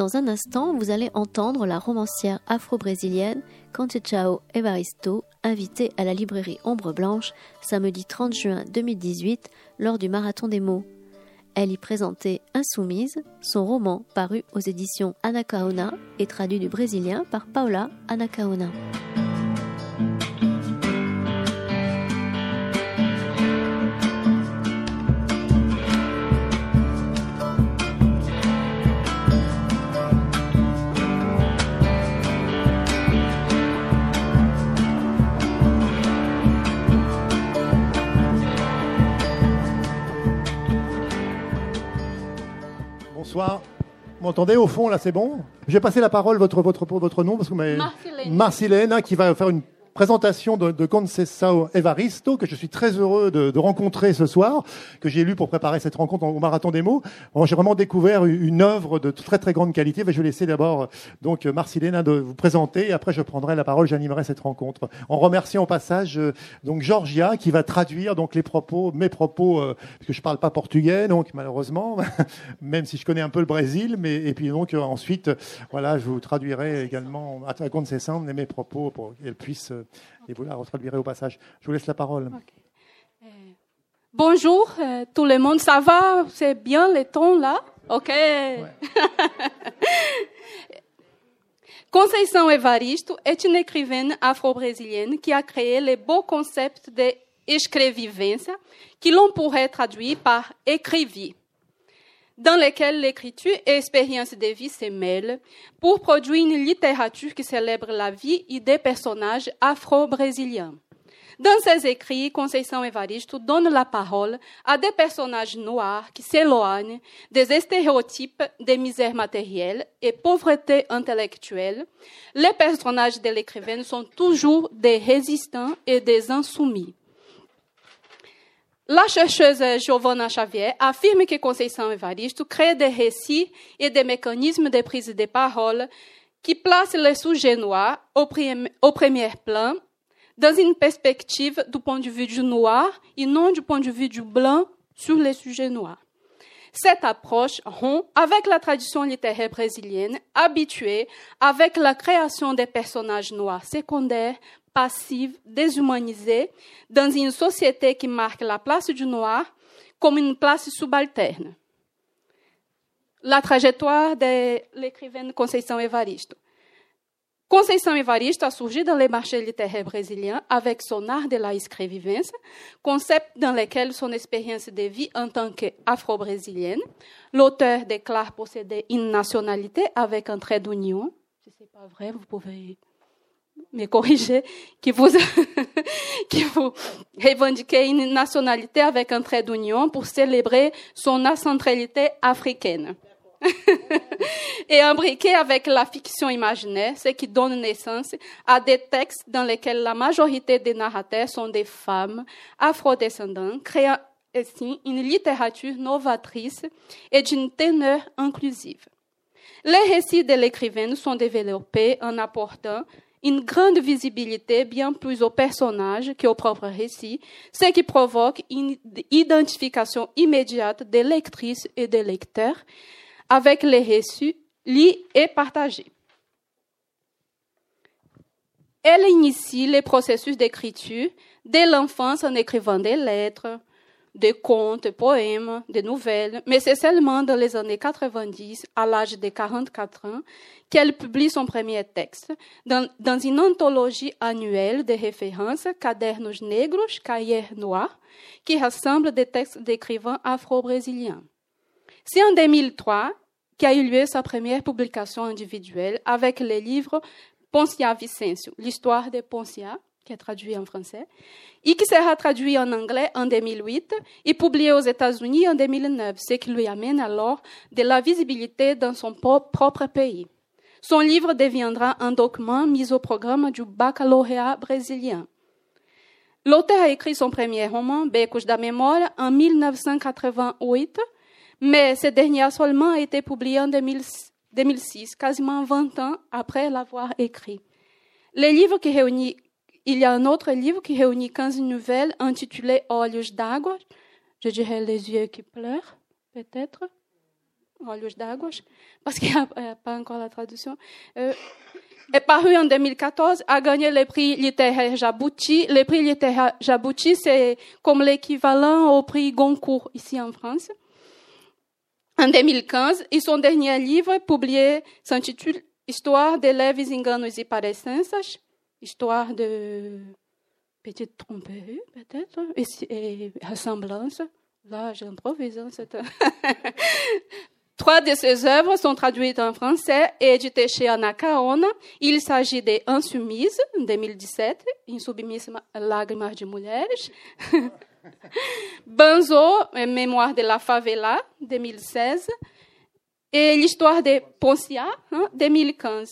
Dans un instant, vous allez entendre la romancière afro-brésilienne Conceição Evaristo, invitée à la librairie Ombre Blanche samedi 30 juin 2018 lors du Marathon des mots. Elle y présentait Insoumise, son roman paru aux éditions Anacaona et traduit du brésilien par Paula Anacaona. Bonsoir. Vous m'entendez au fond, là, c'est bon? Je vais passer la parole, votre nom, parce que vous m'avez... Marcilène, qui va faire une présentation de Conceição Evaristo, que je suis très heureux de rencontrer ce soir, que j'ai lu pour préparer cette rencontre au Marathon des mots. Bon, j'ai vraiment découvert une œuvre de très très grande qualité. Je vais laisser d'abord donc Marcilène de vous présenter, et après je prendrai la parole, j'animerai cette rencontre. En remerciant au passage donc Georgia, qui va traduire donc mes propos, parce que je parle pas portugais, donc malheureusement, même si je connais un peu le Brésil, et puis donc ensuite, voilà, je vous traduirai également à Conceição mes propos pour qu'elle puisse et vous la retraduirez au passage. Je vous laisse la parole. Okay. Bonjour tout le monde, ça va? C'est bien le ton là? Ok. Ouais. Conceição Evaristo est une écrivaine afro-brésilienne qui a créé le beau concept de escrevivência, que l'on pourrait traduire par écrivie, dans lequel l'écriture et l'expérience de vie se mêlent pour produire une littérature qui célèbre la vie et des personnages afro-brésiliens. Dans ses écrits, Conceição Evaristo donne la parole à des personnages noirs qui s'éloignent des stéréotypes de misère matérielle et pauvreté intellectuelle. Les personnages de l'écrivaine sont toujours des résistants et des insoumis. La chercheuse Giovanna Xavier affirme que Conceição Evaristo crée des récits et des mécanismes de prise de parole qui placent les sujets noirs au premier plan dans une perspective du point de vue du noir et non du point de vue du blanc sur les sujets noirs. Cette approche rompt avec la tradition littéraire brésilienne habituée avec la création des personnages noirs secondaires, passifs, déshumanisés, dans une société qui marque la place du noir comme une place subalterne. La trajectoire de l'écrivaine Conceição Evaristo. Conceição Evaristo a surgi dans les marchés littéraires brésiliens avec son art de la escrevivência, concept dans lequel son expérience de vie en tant qu'afro-brésilienne. L'auteur déclare posséder une nationalité avec un trait d'union. Si ce n'est pas vrai, vous pouvez me corriger, qui vous revendiquez une nationalité avec un trait d'union pour célébrer son ascentralité africaine. Et imbriqué avec la fiction imaginaire, ce qui donne naissance à des textes dans lesquels la majorité des narrateurs sont des femmes afrodescendantes, créant ainsi une littérature novatrice et d'une teneur inclusive. Les récits de l'écrivaine sont développés en apportant une grande visibilité bien plus aux personnages qu'aux propres récits, ce qui provoque une identification immédiate des lectrices et des lecteurs avec les récits lus et partagés. Elle initie le processus d'écriture dès l'enfance en écrivant des lettres, des contes, des poèmes, des nouvelles, mais c'est seulement dans les années 90, à l'âge de 44 ans, qu'elle publie son premier texte dans une anthologie annuelle de références Cadernos Negros, Cahiers Noirs, qui rassemble des textes d'écrivains afro-brésiliens. C'est en 2003 qu'a eu lieu sa première publication individuelle avec le livre Poncia Vicêncio, l'histoire de Poncia, qui est traduit en français, et qui sera traduit en anglais en 2008 et publié aux États-Unis en 2009, ce qui lui amène alors de la visibilité dans son propre pays. Son livre deviendra un document mis au programme du baccalauréat brésilien. L'auteur a écrit son premier roman, Becos da Memória, en 1988, mais ce dernier a seulement été publié en 2006, quasiment 20 ans après l'avoir écrit. Il y a un autre livre qui réunit 15 nouvelles intitulées Olhos d'Água, je dirais les yeux qui pleurent, peut-être. Olhos d'Água, parce qu'il n'y a pas encore la traduction, est paru en 2014, a gagné le prix littéraire Jabouti. Le prix littéraire Jabouti, c'est comme l'équivalent au prix Goncourt ici en France. En 2015, et son dernier livre, publié, s'intitule Histoire de leves enganos e parecenças, histoire de petite tromperie, peut-être, et ressemblance. Là, j'improvise. Trois de ses œuvres sont traduites en français et éditées chez Anacaona. Il s'agit de Insoumise, 2017, Insubmissima Lágrimas de Mulheres. Banzo, Mémoire de la Favela, 2016. Et l'histoire de Poncia, 2015.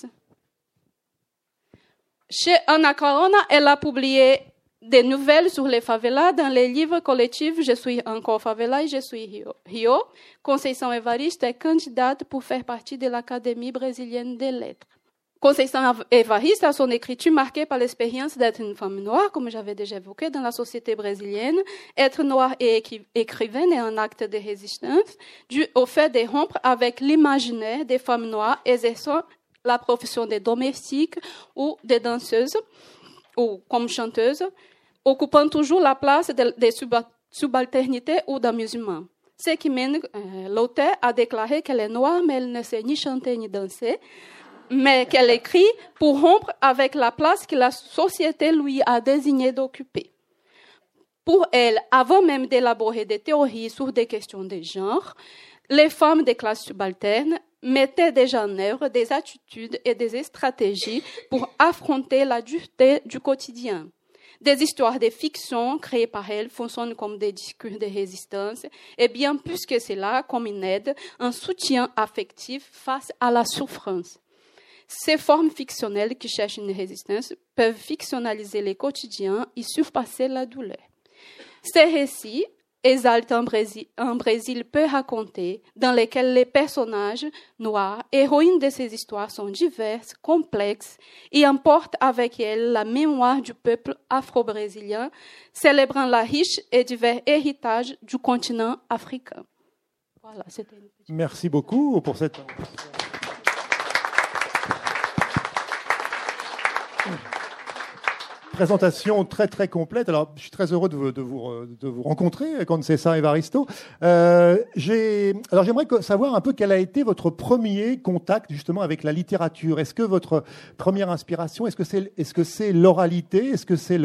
Chez Anacaona, elle a publié des nouvelles sur les favelas dans les livres collectifs Je suis encore favela et Je suis Rio. Conceição Evaristo est candidate pour faire partie de l'Académie brésilienne des lettres. Conceição Evaristo a son écriture marquée par l'expérience d'être une femme noire, comme j'avais déjà évoqué, dans la société brésilienne. Être noire et écrivaine est un acte de résistance dû au fait de rompre avec l'imaginaire des femmes noires exerçant la profession de domestique ou de danseuse ou comme chanteuse, occupant toujours la place des subalternités ou d'amusement. Ce qui mène l'auteur à déclarer qu'elle est noire, mais elle ne sait ni chanter ni danser, mais qu'elle écrit pour rompre avec la place que la société lui a désigné d'occuper. Pour elle, avant même d'élaborer des théories sur des questions de genre, les femmes des classes subalternes mettaient déjà en œuvre des attitudes et des stratégies pour affronter la dureté du quotidien. Des histoires de fiction créées par elles fonctionnent comme des discours de résistance et bien plus que cela, comme une aide, un soutien affectif face à la souffrance. Ces formes fictionnelles qui cherchent une résistance peuvent fictionnaliser les quotidiens et surpasser la douleur. Ces récits exaltent un Brésil peu raconté, dans lequel les personnages noirs, héroïnes de ces histoires, sont diverses, complexes et emportent avec elles la mémoire du peuple afro-brésilien, célébrant la riche et divers héritage du continent africain. Voilà, c'était une petite... Merci beaucoup pour cette... présentation très très complète. Alors, je suis très heureux de vous rencontrer, Conceição Evaristo. Alors, j'aimerais savoir un peu quel a été votre premier contact justement avec la littérature. Est-ce que votre première inspiration, est-ce que c'est l'oralité, est-ce que c'est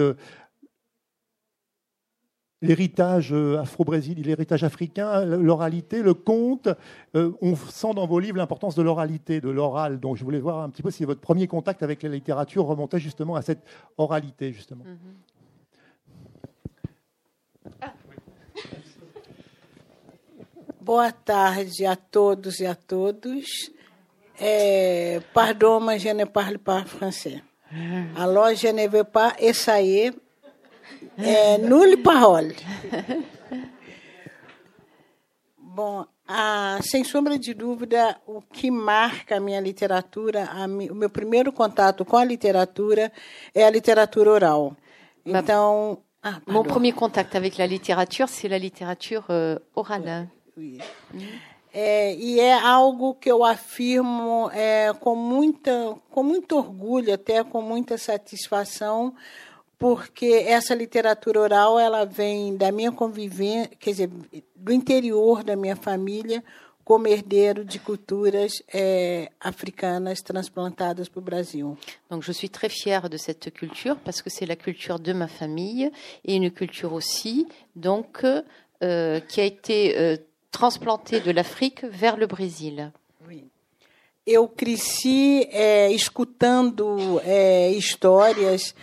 l'héritage afro-brésilien, l'héritage africain, l'oralité, le conte? On sent dans vos livres l'importance de l'oralité, de l'oral. Donc, je voulais voir un petit peu si votre premier contact avec la littérature remontait justement à cette oralité, justement. Boa tarde a todos e a todos. Pardon, mas je ne parle pas français. Alors, je ne vais pas essayer. Nulle parole. Bom, sem sombra de dúvida, o que marca a minha literatura, o meu primeiro contato com a literatura é a literatura oral. Então, mon premier contact avec la littérature, c'est la littérature orale. Oui. E é algo que eu afirmo com muito orgulho, até com muita satisfação, porque essa literatura oral ela vem da minha convivência, quer dizer, do interior da minha família, como herdeiro de culturas africanas transplantadas para o Brasil. Donc je suis très fière de cette culture parce que c'est la culture de ma famille et une culture aussi donc qui a été transplantée de l'Afrique vers le Brésil. Oui. Eu cresci escutando histórias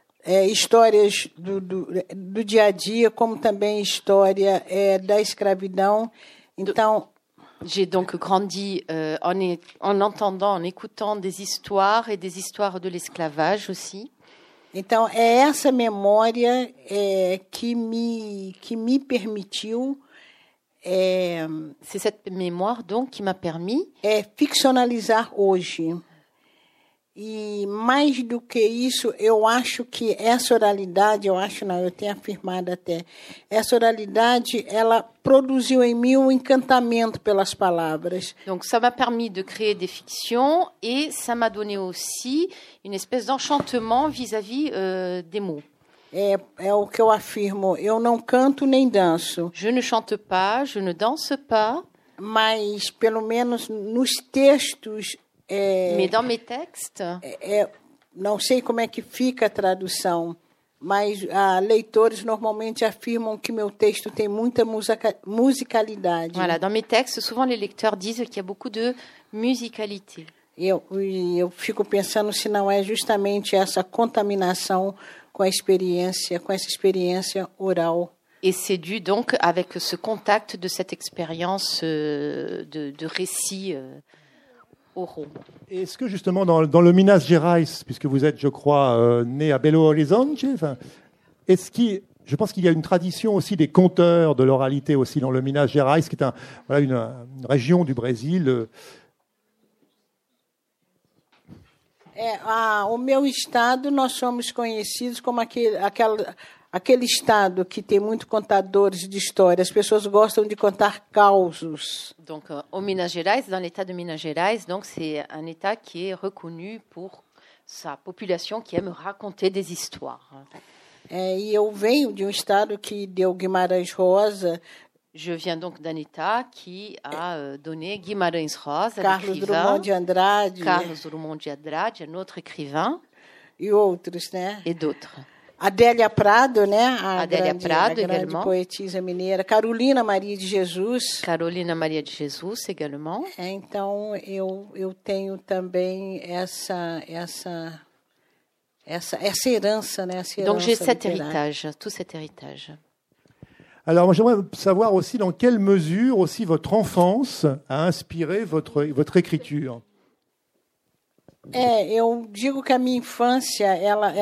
do dia a dia, como também história da escravidão. Então, j'ai donc grandi en entendant, en écoutant des histoires et des histoires de l'esclavage aussi. Então, é essa memória que me permitiu c'est cette mémoire donc qui m'a permis ficcionalizar hoje. E mais do que isso, eu acho que essa oralidade, eu tenho afirmado até, essa oralidade, ela produziu em mim um encantamento pelas palavras. Donc ça m'a permis de créer des fictions et ça m'a donné aussi une espèce d'enchantement vis-à-vis des mots. É o que eu afirmo, eu não canto nem danço. Je ne chante pas, je ne danse pas. Mas, pelo menos nos textos... Mais dans mes textes... não sei como é que fica a tradução, mas leitores normalmente afirmam que meu texto tem muita musicalidade. Voilà, dans mes textes, souvent les lecteurs disent qu'il y a beaucoup de musicalité. Eu fico pensando se não é justamente essa contaminação com essa experiência oral. Et c'est dû donc avec ce contact de cette expérience de récits oraux. Est-ce que justement dans le Minas Gerais, puisque vous êtes, je crois, né à Belo Horizonte, je pense qu'il y a une tradition aussi des conteurs de l'oralité aussi dans le Minas Gerais, qui est une région du Brésil. O meu estado, nós somos conhecidos como aquele estado que tem muitos contadores de história. As pessoas gostam de contar causos. Donc, au Minas Gerais, dans l'état de Minas Gerais, donc c'est un état qui est reconnu pour sa population qui aime raconter des histoires. E eu venho de estado que deu Guimarães Rosa. Je viens donc d'un état qui a donné Guimarães Rosa, Carlos Drummond de Andrade. Carlos Drummond de Andrade, un autre écrivain. E outros, né? Et d'autres. Adélia Prado, né? Adélia Prado, a grande poetisa mineira. Carolina Maria de Jesus. Carolina Maria de Jesus, également. Então, eu tenho também essa herança, né? Essa herança donc, j'ai cet littéraire. héritage, tout cet héritage. Alors, moi, j'aimerais savoir aussi dans quelle mesure aussi votre enfance a inspiré votre écriture. Eu digo que a minha infância,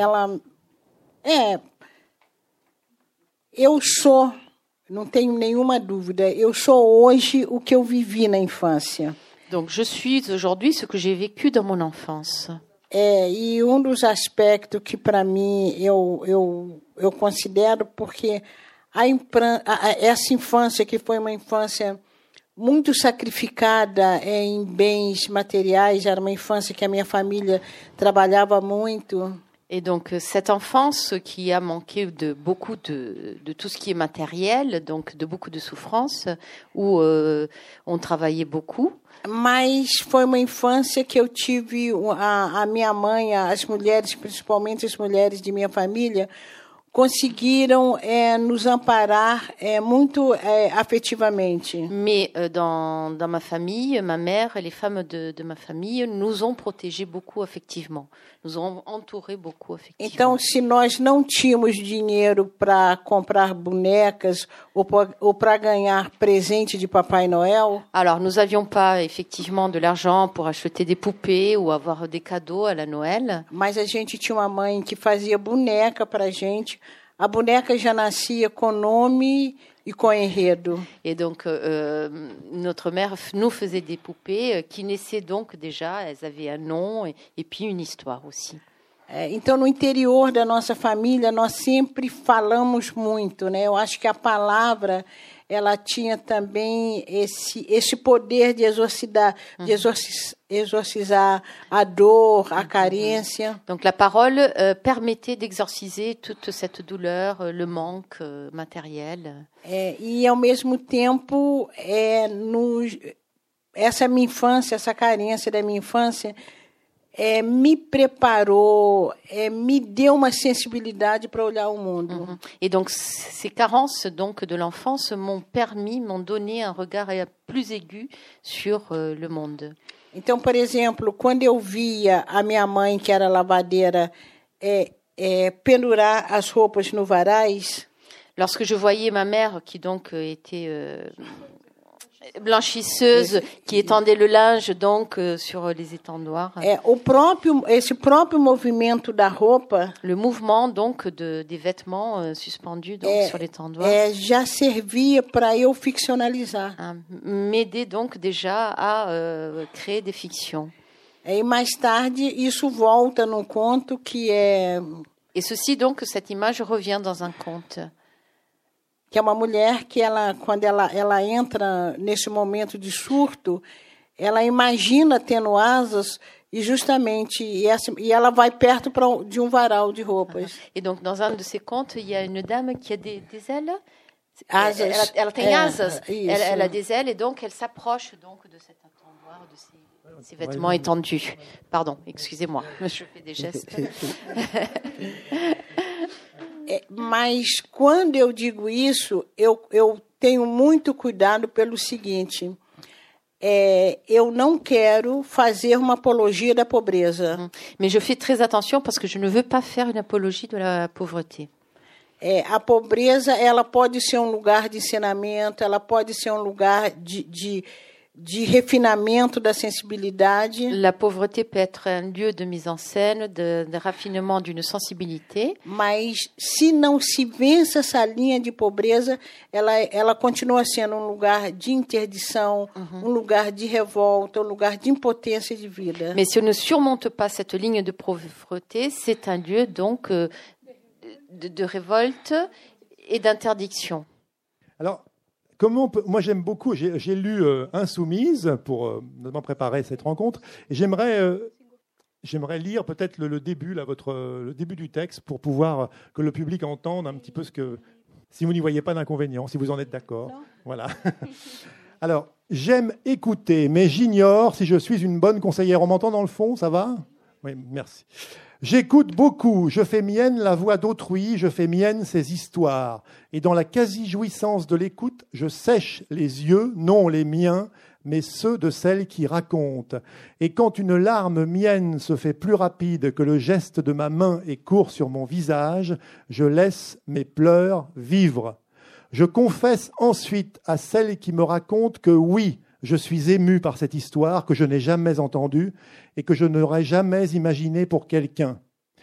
eu sou, não tenho nenhuma dúvida, eu sou hoje o que eu vivi na infância. Donc, je suis aujourd'hui ce que j'ai vécu dans mon enfance. E dos aspectos que, para mim, eu considero, porque essa infância, que foi uma infância muito sacrificada em bens materiais, era uma infância que a minha família trabalhava muito. Et donc, cette enfance qui a manqué de beaucoup de tout ce qui est matériel, donc de beaucoup de souffrances, où on travaillait beaucoup. Mas foi uma infância que eu tive, a minha mãe, as mulheres, principalmente as mulheres de minha família, conseguiram nos amparar muito afetivamente. Mais dans ma famille, ma mère et les femmes de ma famille nous ont protégés beaucoup affectivement, nous ont entourés beaucoup affectivement. Então, se nós não tínhamos dinheiro para comprar bonecas ou para ganhar presente de Papai Noël, alors nous n'avions pas effectivement de l'argent pour acheter des poupées ou avoir des cadeaux à la Noël. Mas a gente tinha uma mãe que fazia boneca para a gente. A boneca já nascia com nome e com enredo. Et donc, notre mère nous faisait des poupées qui naissaient donc déjà, elles avaient un nom et puis une histoire aussi. Então, no interior da nossa família, nós sempre falamos muito, né? Eu acho que a palavra, ela tinha também esse poder de exorcizar a dor, a carência. Donc la parole permettait d'exorciser toute cette douleur, le manque matériel. E ao mesmo tempo, essa minha infância, essa carência da minha infância, me preparou, me deu uma sensibilidade para olhar o mundo. Et donc ces carences donc de l'enfance m'ont donné un regard plus aigu sur le monde. Então, por exemplo, quando eu via a minha mãe, que era lavadeira, pendurar as roupas no varais, lorsque je voyais ma mère qui donc était blanchisseuse, qui étendait le linge donc sur les étendoirs. Esse próprio movimento da roupa, le mouvement donc des vêtements suspendus donc sur l'étendoir, já servia para eu ficcionalizar. M'aidait donc déjà à créer des fictions. E mais tarde isso volta num conto que é... Et ceci, donc, cette image revient dans un conte. Que é uma mulher que, quando ela entra nesse momento de surto, ela imagina tendo asas e justamente e ela vai perto de varal de roupas. Et donc, dans un de ces contes, il y a une dame qui a des ailes. Asas. Elle tem asas. Elle a des ailes et donc elle s'approche donc de cet entonnoir, de ces vêtements étendus. Pardon, excusez-moi, je fais des gestes. Mas quando eu digo isso, eu tenho muito cuidado pelo seguinte: eu não quero fazer uma apologia da pobreza. Mais je fais très attention parce que je ne veux pas faire une apologie de la pauvreté. A pobreza, ela pode ser um lugar de ensinamento, ela pode ser um lugar de refinamento da sensibilidade. La pauvreté peut être un lieu de mise en scène, de raffinement d'une sensibilité. Mas se não se vence essa linha de pobreza, ela continua sendo um lugar de interdição, um lugar de revolta, um lugar de impotência de vida. Mais si on ne surmonte pas cette ligne de pauvreté, c'est un lieu donc de révolte et d'interdiction. Alors, moi j'aime beaucoup, j'ai lu Insoumise pour notamment préparer cette rencontre, et j'aimerais lire peut-être le début, là, le début du texte, pour pouvoir que le public entende un petit peu si vous n'y voyez pas d'inconvénient, si vous en êtes d'accord. Voilà. Alors, j'aime écouter, mais j'ignore si je suis une bonne conseillère. On m'entend dans le fond, ça va ? Oui, merci. J'écoute beaucoup, je fais mienne la voix d'autrui, je fais mienne ses histoires. Et dans la quasi-jouissance de l'écoute, je sèche les yeux, non les miens, mais ceux de celle qui raconte. Et quand une larme mienne se fait plus rapide que le geste de ma main et court sur mon visage, je laisse mes pleurs vivre. Je confesse ensuite à celle qui me raconte que oui, je suis ému par cette histoire que je n'ai jamais entendue et que je n'aurais jamais imaginée pour quelqu'un.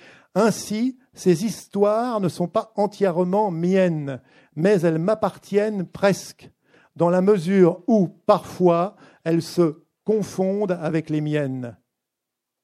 Ainsi, ces histoires ne sont pas entièrement miennes, mais elles m'appartiennent presque, dans la mesure où, parfois, elles se confondent avec les miennes. J'invente ?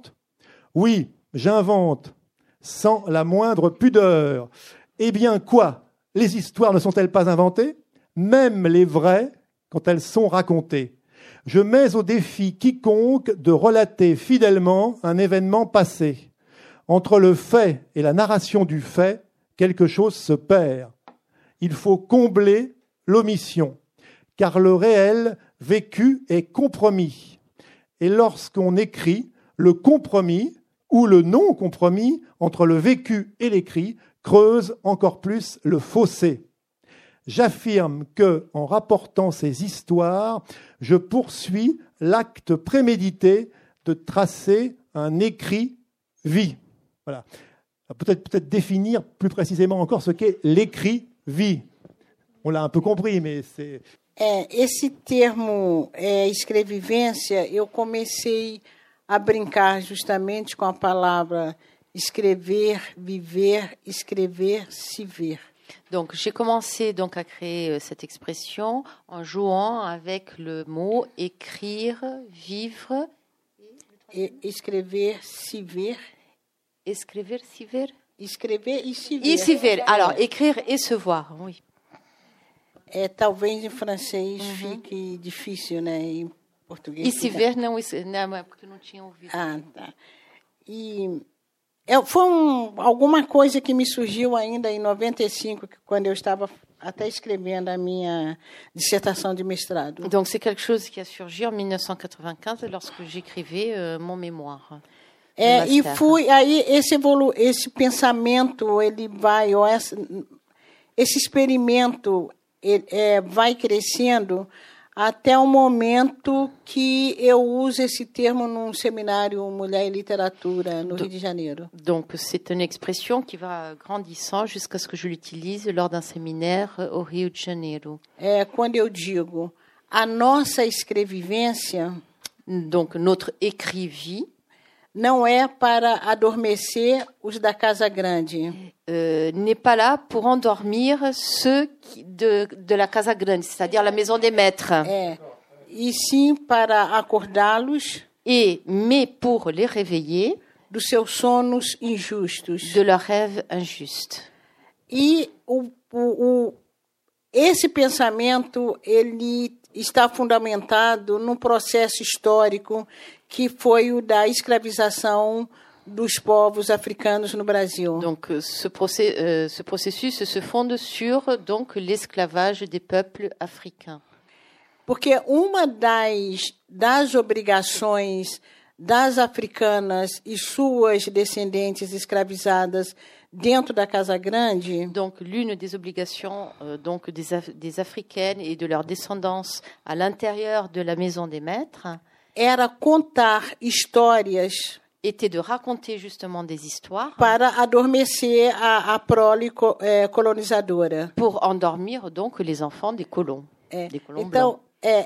Oui, j'invente, sans la moindre pudeur. Eh bien, quoi ? Les histoires ne sont-elles pas inventées ? Même les vraies, quand elles sont racontées. Je mets au défi quiconque de relater fidèlement un événement passé. Entre le fait et la narration du fait, quelque chose se perd. Il faut combler l'omission, car le réel vécu est compromis. Et lorsqu'on écrit, le compromis ou le non-compromis entre le vécu et l'écrit creuse encore plus le fossé. J'affirme que, en rapportant ces histoires, je poursuis l'acte prémédité de tracer un écrit vie. Voilà. Peut-être définir plus précisément encore ce qu'est l'écrit vie. On l'a un peu compris, mais c'est... Esse termo escrevivência, eu comecei a brincar justamente com a palavra escrever, viver, escrever, se ver. Donc, j'ai commencé donc à créer cette expression en jouant avec le mot écrire, vivre. Escrever, se ver. Escrever, se ver. Escrever e se ver. E se ver. Alors, écrire et se voir, oui. Talvez em francês fique difícil, né? Em português. E se ver não, porque eu não tinha ouvido. Ah, tá. E foi alguma coisa que me surgiu ainda em 95, quando eu estava até escrevendo a minha dissertação de mestrado. Donc c'est quelque chose qui a surgi en 1995 lorsque j'écrivais mon mémoire. E fui aí esse pensamento, ele vai, esse experimento vai crescendo até o momento que eu uso esse termo num seminário Mulher e Literatura no Rio de Janeiro. Donc c'est une expression qui va grandissant jusqu'à ce que je l'utilise lors d'un séminaire au Rio de Janeiro. Quando eu digo a nossa escrevivência, donc notre écrit-vie, não é para adormecer os da Casa Grande. N'est pas là pour endormir ceux de la Casa Grande, c'est-à-dire la maison des maîtres. E sim para acordá-los. mais pour les réveiller dos seus sonos injustos. de leurs rêves injustes. E esse pensamento ele está fundamentado num processo histórico que foi o da escravização dos povos africanos no Brasil. Donc ce processus se fonde sur donc l'esclavage des peuples africains. Porque uma das obrigações das africanas e suas descendentes escravizadas dentro da Casa Grande, Donc l'une des obligations donc des africaines et de leur descendance à l'intérieur de la maison des maîtres era contar histórias était de raconter justement des histoires para adormecer a prole colonizadora. pour endormir donc les enfants des colons. Des colons Então,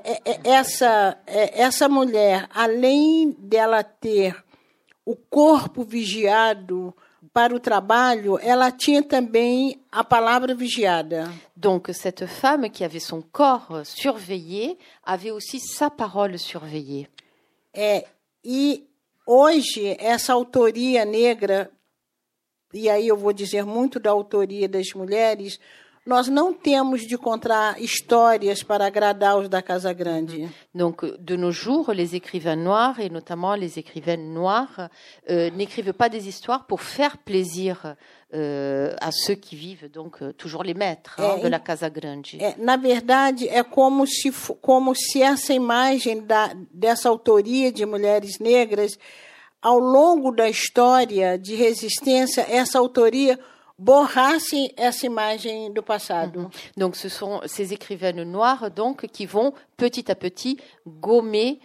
essa mulher, além dela ter o corpo vigiado para o trabalho, ela tinha também a palavra vigiada. Donc cette femme qui avait son corps surveillé avait aussi sa parole surveillée. E hoje, essa autoria negra, e aí eu vou dizer muito da autoria das mulheres, nós não temos de contar histórias para agradar os da Casa Grande. Donc, de nos jours, les écrivains noirs, et notamment les écrivaines noires, n'écrivent pas des histoires pour faire plaisir à ceux qui vivent, donc toujours les maîtres de la Casa Grande. Na verdade, é como se essa imagem dessa autoria de mulheres negras, ao longo da história de resistência, essa autoria borrasse essa imagem do passado. Donc ce sont ces écrivaines noires donc qui vont petit à petit gommer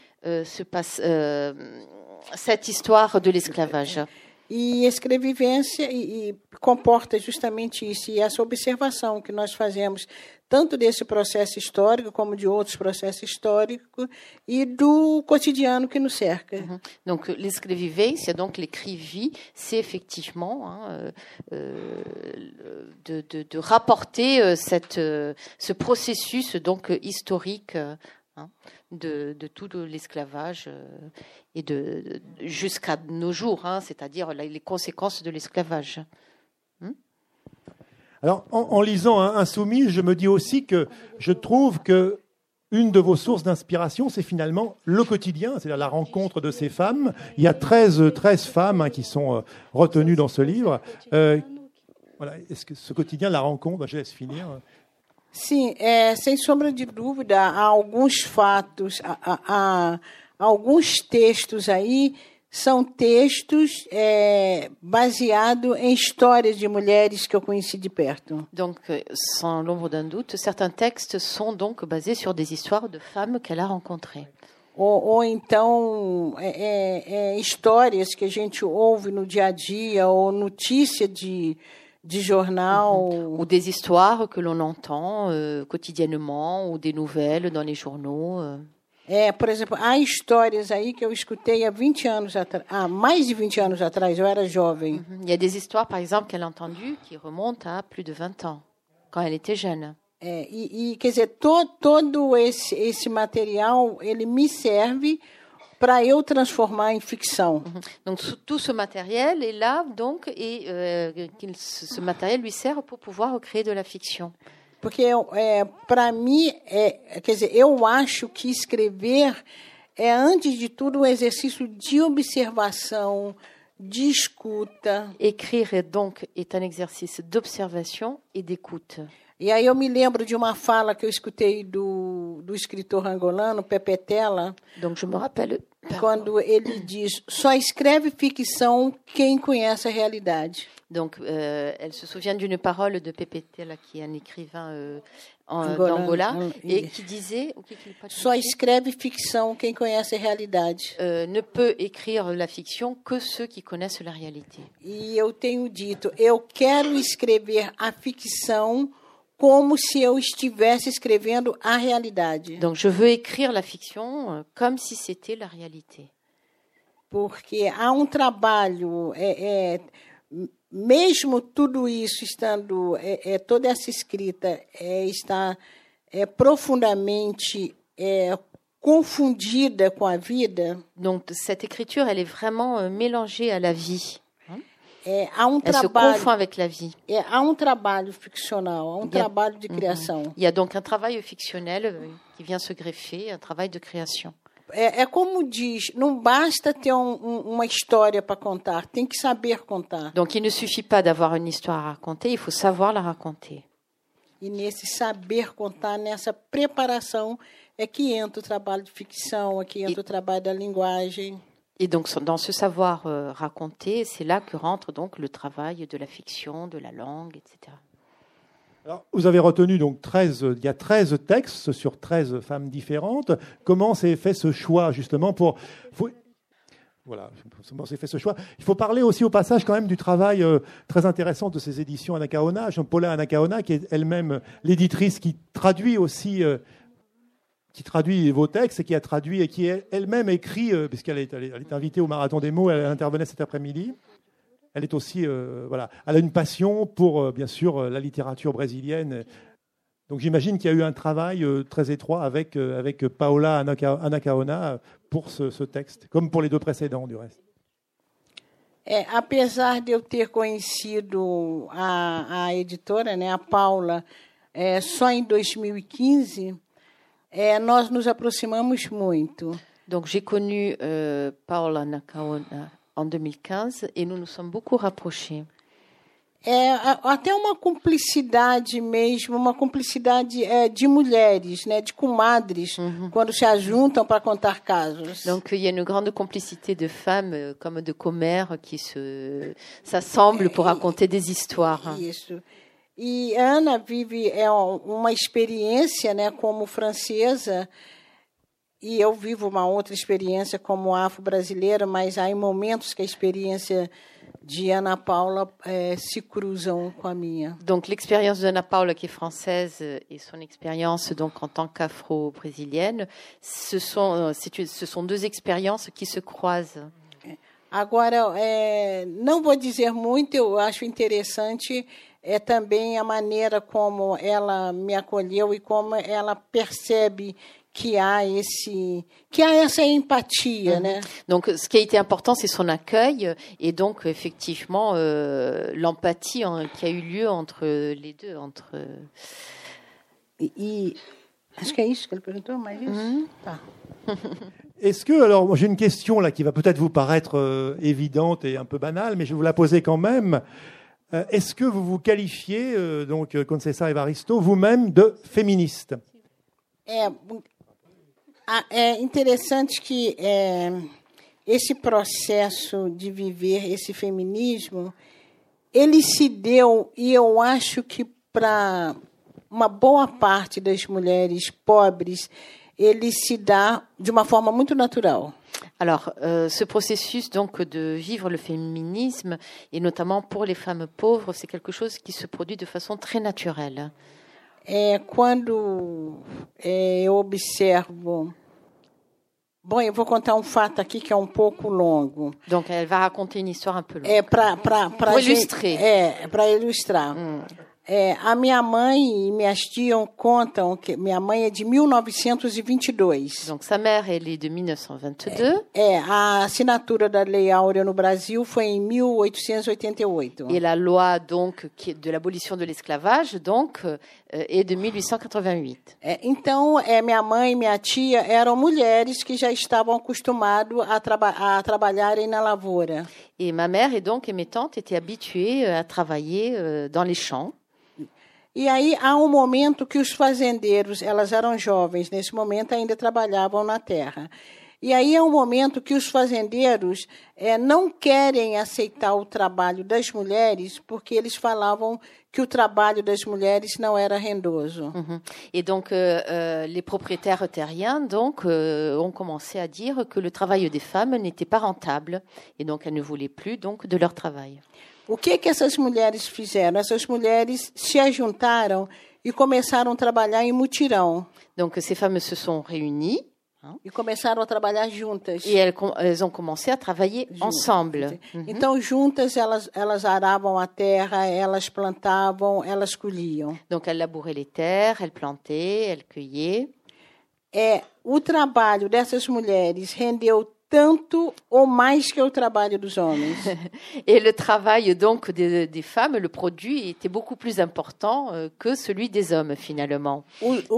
cette histoire de l'esclavage. E escrevivência e comporta justamente isso, e essa observação que nós fazemos tanto desse processo histórico como de outros processos históricos e do cotidiano que nos cerca. Donc l'esclavivência, donc l'écrivie, c'est effectivement de rapporter ce processus donc historique de tout l'esclavage et jusqu'à nos jours, c'est-à-dire les conséquences de l'esclavage. Alors, en lisant Insoumis, je me dis aussi que je trouve que une de vos sources d'inspiration, c'est finalement le quotidien, c'est-à-dire la rencontre de ces femmes. Il y a 13 femmes qui sont retenues dans ce livre. Voilà, est-ce que ce quotidien, la rencontre, je laisse finir. Sim, sem sombra de dúvida, há alguns fatos, há alguns textos aí, são textos baseados em histórias de mulheres que eu conheci de perto. Donc, sans l'ombre d'un doute, certains textes sont donc basés sur des histoires de femmes qu'elle a rencontrées. Ou então, histórias que a gente ouve no dia a dia, ou notícia de jornal. Ou des histoires que l'on entend quotidiennement, ou des nouvelles dans les journaux. Por exemplo, há histórias aí que eu escutei há 20 anos atrás, mais de 20 anos atrás, eu era jovem. Il y a des histoires, par exemple, qu'elle a entendues qui remontent à plus de 20 ans, quand elle était jeune. Quer dizer, todo esse material, ele me serve para eu transformar em ficção. Donc tout ce matériel est là, donc, et ce matériel lui sert pour pouvoir créer de la fiction. Porque para mim, quer dizer, eu acho que escrever é, antes de tudo, um exercício de observação, de escuta. Écrire, donc, est un exercice d'observation et d'écoute. E aí eu me lembro de uma fala que eu escutei do escritor angolano, Pepe Tela. Donc je me rappelle quando ele diz: só escreve ficção quem conhece a realidade. Donc, elle se souvient d'une parole de Pepe Tela, qui est un écrivain d'Angola, et qui disait... Só escreve ficção quem conhece a realidade. Ne peut écrire la fiction que ceux qui connaissent la réalité. E eu tenho dito, eu quero escrever a ficção como se eu estivesse escrevendo a realidade. Donc, je veux écrire la fiction comme si c'était la réalité. Porque há trabalho... mesmo tudo isso estando, toda essa escrita está profundamente confundida com a vida. Donc cette écriture, elle est vraiment mélangée à la vie. Há Elle se confond avec la vie. Há trabalho ficcional, há trabalho de criação. Il y a donc un travail fictionnel qui vient se greffer, un travail de création. É como diz, não basta ter uma história para contar, tem que saber contar. Donc il ne suffit pas d'avoir une histoire à raconter, il faut savoir la raconter. E nesse saber contar, nessa preparação, é que entra o trabalho de ficção, é que entra o trabalho da linguagem. Et donc, dans ce savoir raconter, c'est là que rentre donc le travail de la fiction, de la langue, etc. Alors, vous avez retenu donc il y a 13 textes sur 13 femmes différentes. Comment s'est fait ce choix, justement, Voilà, comment s'est fait ce choix. Il faut parler aussi au passage quand même du travail très intéressant de ces éditions Anacaona, Paula Anacaona, qui est elle-même l'éditrice qui traduit aussi... qui traduit vos textes et qui a traduit et qui elle-même écrit, puisqu'elle est invitée au Marathon des mots, elle intervenait cet après-midi. Elle est aussi, elle a une passion pour, bien sûr, la littérature brésilienne. Donc j'imagine qu'il y a eu un travail très étroit avec Paula Anacaona pour ce texte, comme pour les deux précédents, du reste. Apesar de eu ter conhecido a editora, né, a Paula, só em 2015... nós nos aproximamos muito. Donc j'ai connu Paula Anacaona en 2015 et nous nous sommes beaucoup rapprochés. Até uma cumplicidade mesmo, uma cumplicidade de mulheres, né, de comadres, quando se ajuntam para contar casos. Donc il y a une grande complicité de femmes comme de commères qui s'assemblent pour raconter des histoires. Isso. E Ana vive uma experiência, né, como francesa, e eu vivo uma outra experiência como afro-brasileira, mas há momentos que a experiência de Ana Paula se cruzam com a minha. Donc l'expérience de Ana Paula qui est française et son expérience donc en tant qu'afro-brésilienne, ce sont deux expériences qui se croisent. Agora, não vou dizer muito, eu acho interessante também a maneira como ela me acolheu e como ela percebe que há essa empatia, né? Donc, ce qui a été important, c'est son accueil et donc effectivement l'empathie qui a eu lieu entre les deux, acho que é isso que ele perguntou, mais isso. Tá. Est-ce que, alors, j'ai une question là qui va peut-être vous paraître évidente et un peu banale, mais je vais vous la poser quand même. Est-ce que vous vous qualifiez, donc Conceição Evaristo, vous-même de féministe? É interessante que esse processo de viver esse feminismo, ele se deu, e eu acho que para uma boa parte das mulheres pobres, ele se dá de uma forma muito natural. Alors, ce processus donc de vivre le féminisme, et notamment pour les femmes pauvres, c'est quelque chose qui se produit de façon très naturelle. Quando eu observo... Bom, eu vou contar fato aqui que é pouco longo. Donc, elle va raconter une histoire un peu longue. Para illustrer. Para ilustrar. A minha mãe e minhas tias contam que minha mãe é de 1922. Donc sa mère elle est de 1922. A assinatura da Lei Áurea no Brasil foi em 1888. Et la loi donc de l'abolition de l'esclavage donc est de 1888. Então, minha mãe e minha tia eram mulheres que já estavam acostumadas a trabalharem na lavoura. Et ma mère et donc mes tantes étaient habituées à travailler dans les champs. E aí há momento que os fazendeiros, elas eram jovens, nesse momento ainda trabalhavam na terra. E aí há momento que os fazendeiros não querem aceitar o trabalho das mulheres porque eles falavam que o trabalho das mulheres não era rendoso. Et donc les propriétaires terriens donc ont commencé à dire que le travail des femmes n'était pas rentable et donc elles ne voulaient plus donc de leur travail. O que essas mulheres fizeram? Essas mulheres se ajuntaram e começaram a trabalhar em mutirão. Donc ces femmes se sont réunies e começaram a trabalhar juntas. Et elles ont commencé à travailler ensemble. Então juntas elas aravam a terra, elas plantavam, elas colhiam. Donc elles labouraient les terres, elles plantaient, elles cueillaient. o trabalho dessas mulheres rendeu tanto ou mais que o trabalho dos homens. Et le travail donc des femmes, le produit était beaucoup plus important que celui des hommes finalement.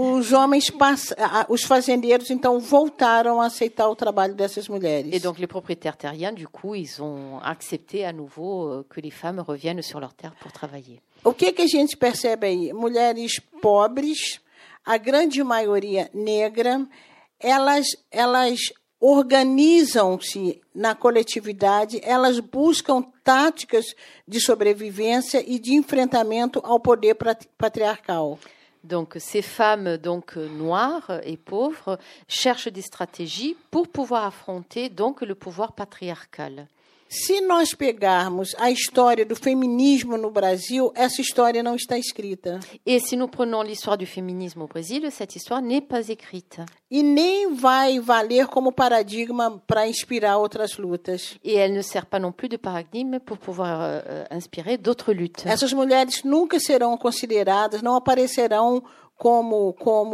Os fazendeiros então voltaram a aceitar o trabalho dessas mulheres. Et donc les propriétaires terriens du coup, ils ont accepté à nouveau que les femmes reviennent sur leurs terres pour travailler. O que a gente percebe aí? Mulheres pobres, a grande maioria negra, elas organizam-se na coletividade, elas buscam táticas de sobrevivência e de enfrentamento ao poder patriarcal. Donc ces femmes donc noires et pauvres cherchent des stratégies pour pouvoir affronter donc le pouvoir patriarcal. Se nós pegarmos a história do feminismo no Brasil, essa história não está escrita. Et si nous prenons l'histoire du féminisme au Brésil, cette histoire n'est pas écrite. E nem vai valer como paradigma para inspirar outras lutas. Et elle ne sert pas non plus de paradigme pour pouvoir inspirer d'autres luttes. Essas mulheres nunca serão consideradas, não aparecerão como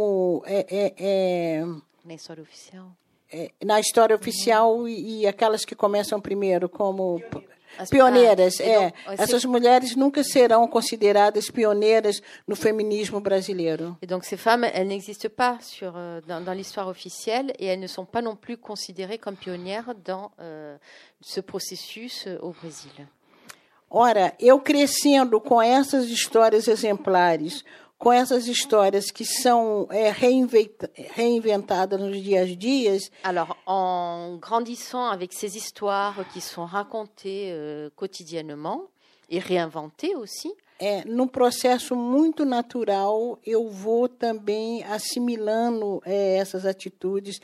Na história oficial. Na história oficial e aquelas que começam primeiro como pioneiras. Essas mulheres nunca serão consideradas pioneiras no feminismo brasileiro. Et donc ces femmes, elles n'existent pas dans l'histoire officielle et elles ne sont pas non plus considérées comme pionnières dans ce processus au Brésil. Ora, eu crescendo com essas histórias exemplares, com essas histórias que são reinventadas nos dias a dias. Alors, en grandissant avec ces histoires qui sont racontées quotidiennement et réinventées aussi. Num processo muito natural, eu vou também assimilando essas atitudes,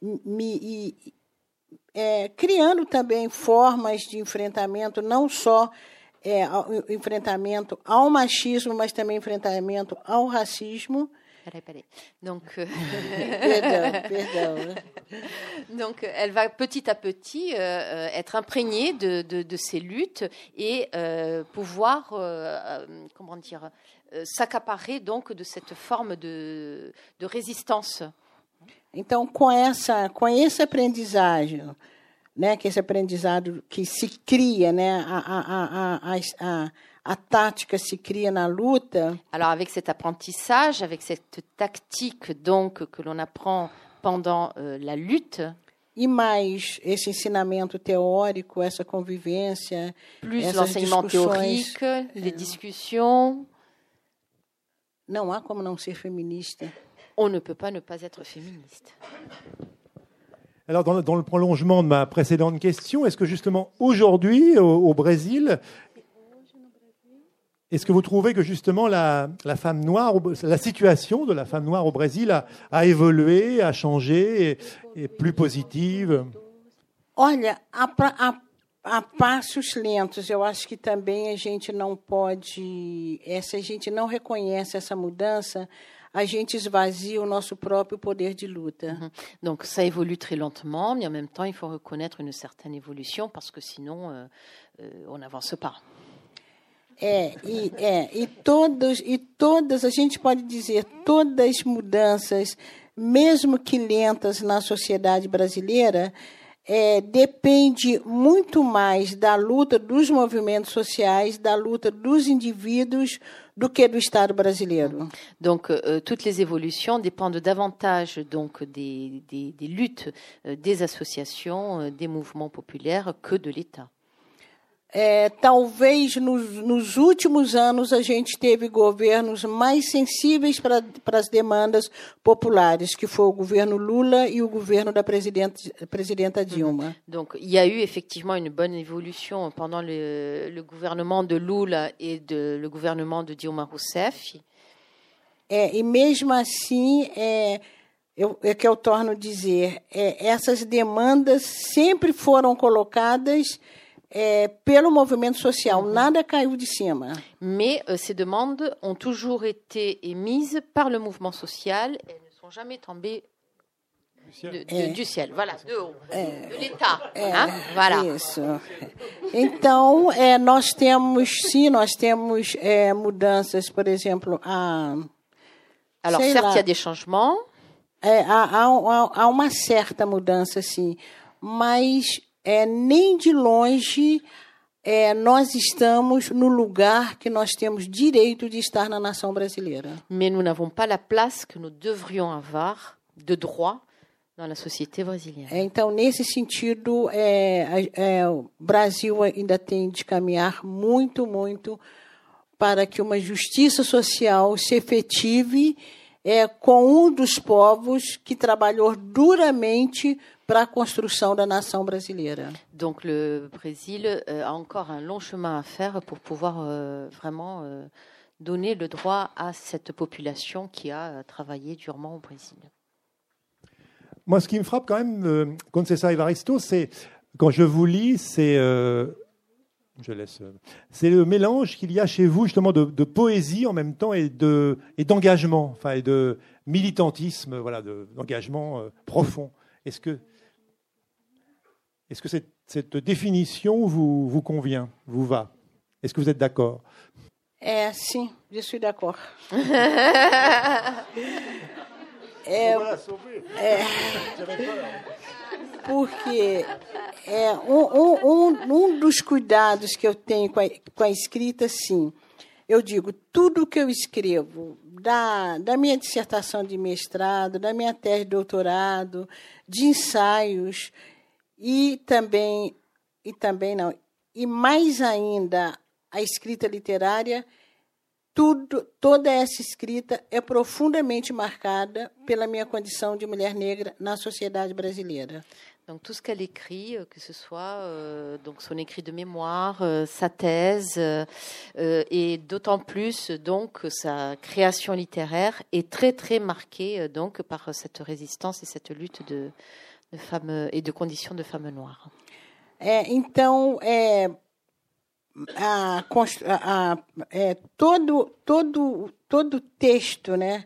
criando também formas de enfrentamento, não só enfrentamento ao machismo, mas também enfrentamento ao racismo. Peraí. Donc, perdão. Donc, elle va petit à petit être imprégnée de ces luttes et pouvoir, s'accaparer donc de cette forme de résistance. Então, com esse aprendizagem, né, que esse aprendizado que se cria, né, a tática se cria na luta. Alors avec cet apprentissage, avec cette tactique donc que l'on apprend pendant la lutte. E mais esse ensinamento teórico, essa convivência, plus l'enseignement théorique, les discussions. Não há como não ser feminista. On ne peut pas ne pas être féministe. Alors, dans le prolongement de ma précédente question, est-ce que justement aujourd'hui, au Brésil, est-ce que vous trouvez que justement la femme noire, la situation de la femme noire au Brésil a évolué, a changé, est plus positive? Olha, a passos lentos, eu acho que também a gente não pode, se a gente não reconhece essa mudança, a gente esvazia o nosso próprio poder de luta. Donc ça évolue très lentement, mais en même temps il faut reconnaître une certaine évolution parce que sinon on n'avance pas. E todas, a gente pode dizer, todas as mudanças, mesmo que lentas na sociedade brasileira, depende muito mais da luta dos movimentos sociais, da luta dos indivíduos, do que do Estado brasileiro. Donc, toutes les évolutions dépendent davantage donc des luttes des associations, des mouvements populaires que de l'État. Talvez nos últimos anos a gente teve governos mais sensíveis para as demandas populares, que foi o governo Lula e o governo da presidenta Dilma. Donc, il y a eu effectivement une bonne évolution pendant le gouvernement de Lula et le gouvernement de Dilma Rousseff. E mesmo assim, que eu torno a dizer, essas demandas sempre foram colocadas pelo movimento social, nada caiu de cima. Mais ces demandes ont toujours été émises par le mouvement social, elles ne sont jamais tombées du ciel, voilà, de haut, de l'État, voilà. Isso. Então, nós temos mudanças, por exemplo, alors certes, il y a des changements. há uma certa mudança, sim, mas nem de longe nós estamos no lugar que nós temos direito de estar na nação brasileira. Mais nous n'avons pas la place que nous devrions avoir de droit dans la société brésilienne. Então, nesse sentido, o Brasil ainda tem de caminhar muito, muito para que uma justiça social se efetive com um dos povos que trabalhou duramente para a construção da nação brasileira. Donc le Brésil a encore un long chemin à faire pour pouvoir vraiment donner le droit à cette population qui a travaillé durement au Brésil. Moi, ce qui me frappe quand même, Conceição Evaristo, c'est, quand je vous lis, c'est le mélange qu'il y a chez vous justement de poésie en même temps et d'engagement, enfin, et de militantisme, voilà, d'engagement profond. Est-ce que cette définition vous convient, vous va? Est-ce que vous êtes d'accord? Sim, je suis d'accord. Porque dos cuidados que eu tenho com a escrita, sim, eu digo, tudo que eu escrevo, da minha dissertação de mestrado, da minha tese de doutorado, de ensaios, e mais ainda a escrita literária, toda essa escrita é profondamente marcada pela minha condição de mulher negra na sociedade brasileira. Donc tout ce qu'elle écrit, que ce soit donc son écrit de mémoire, sa thèse, et d'autant plus donc sa création littéraire est très très marquée donc par cette résistance et cette lutte de femmes et de conditions de femmes noires. Então, todo texto, né?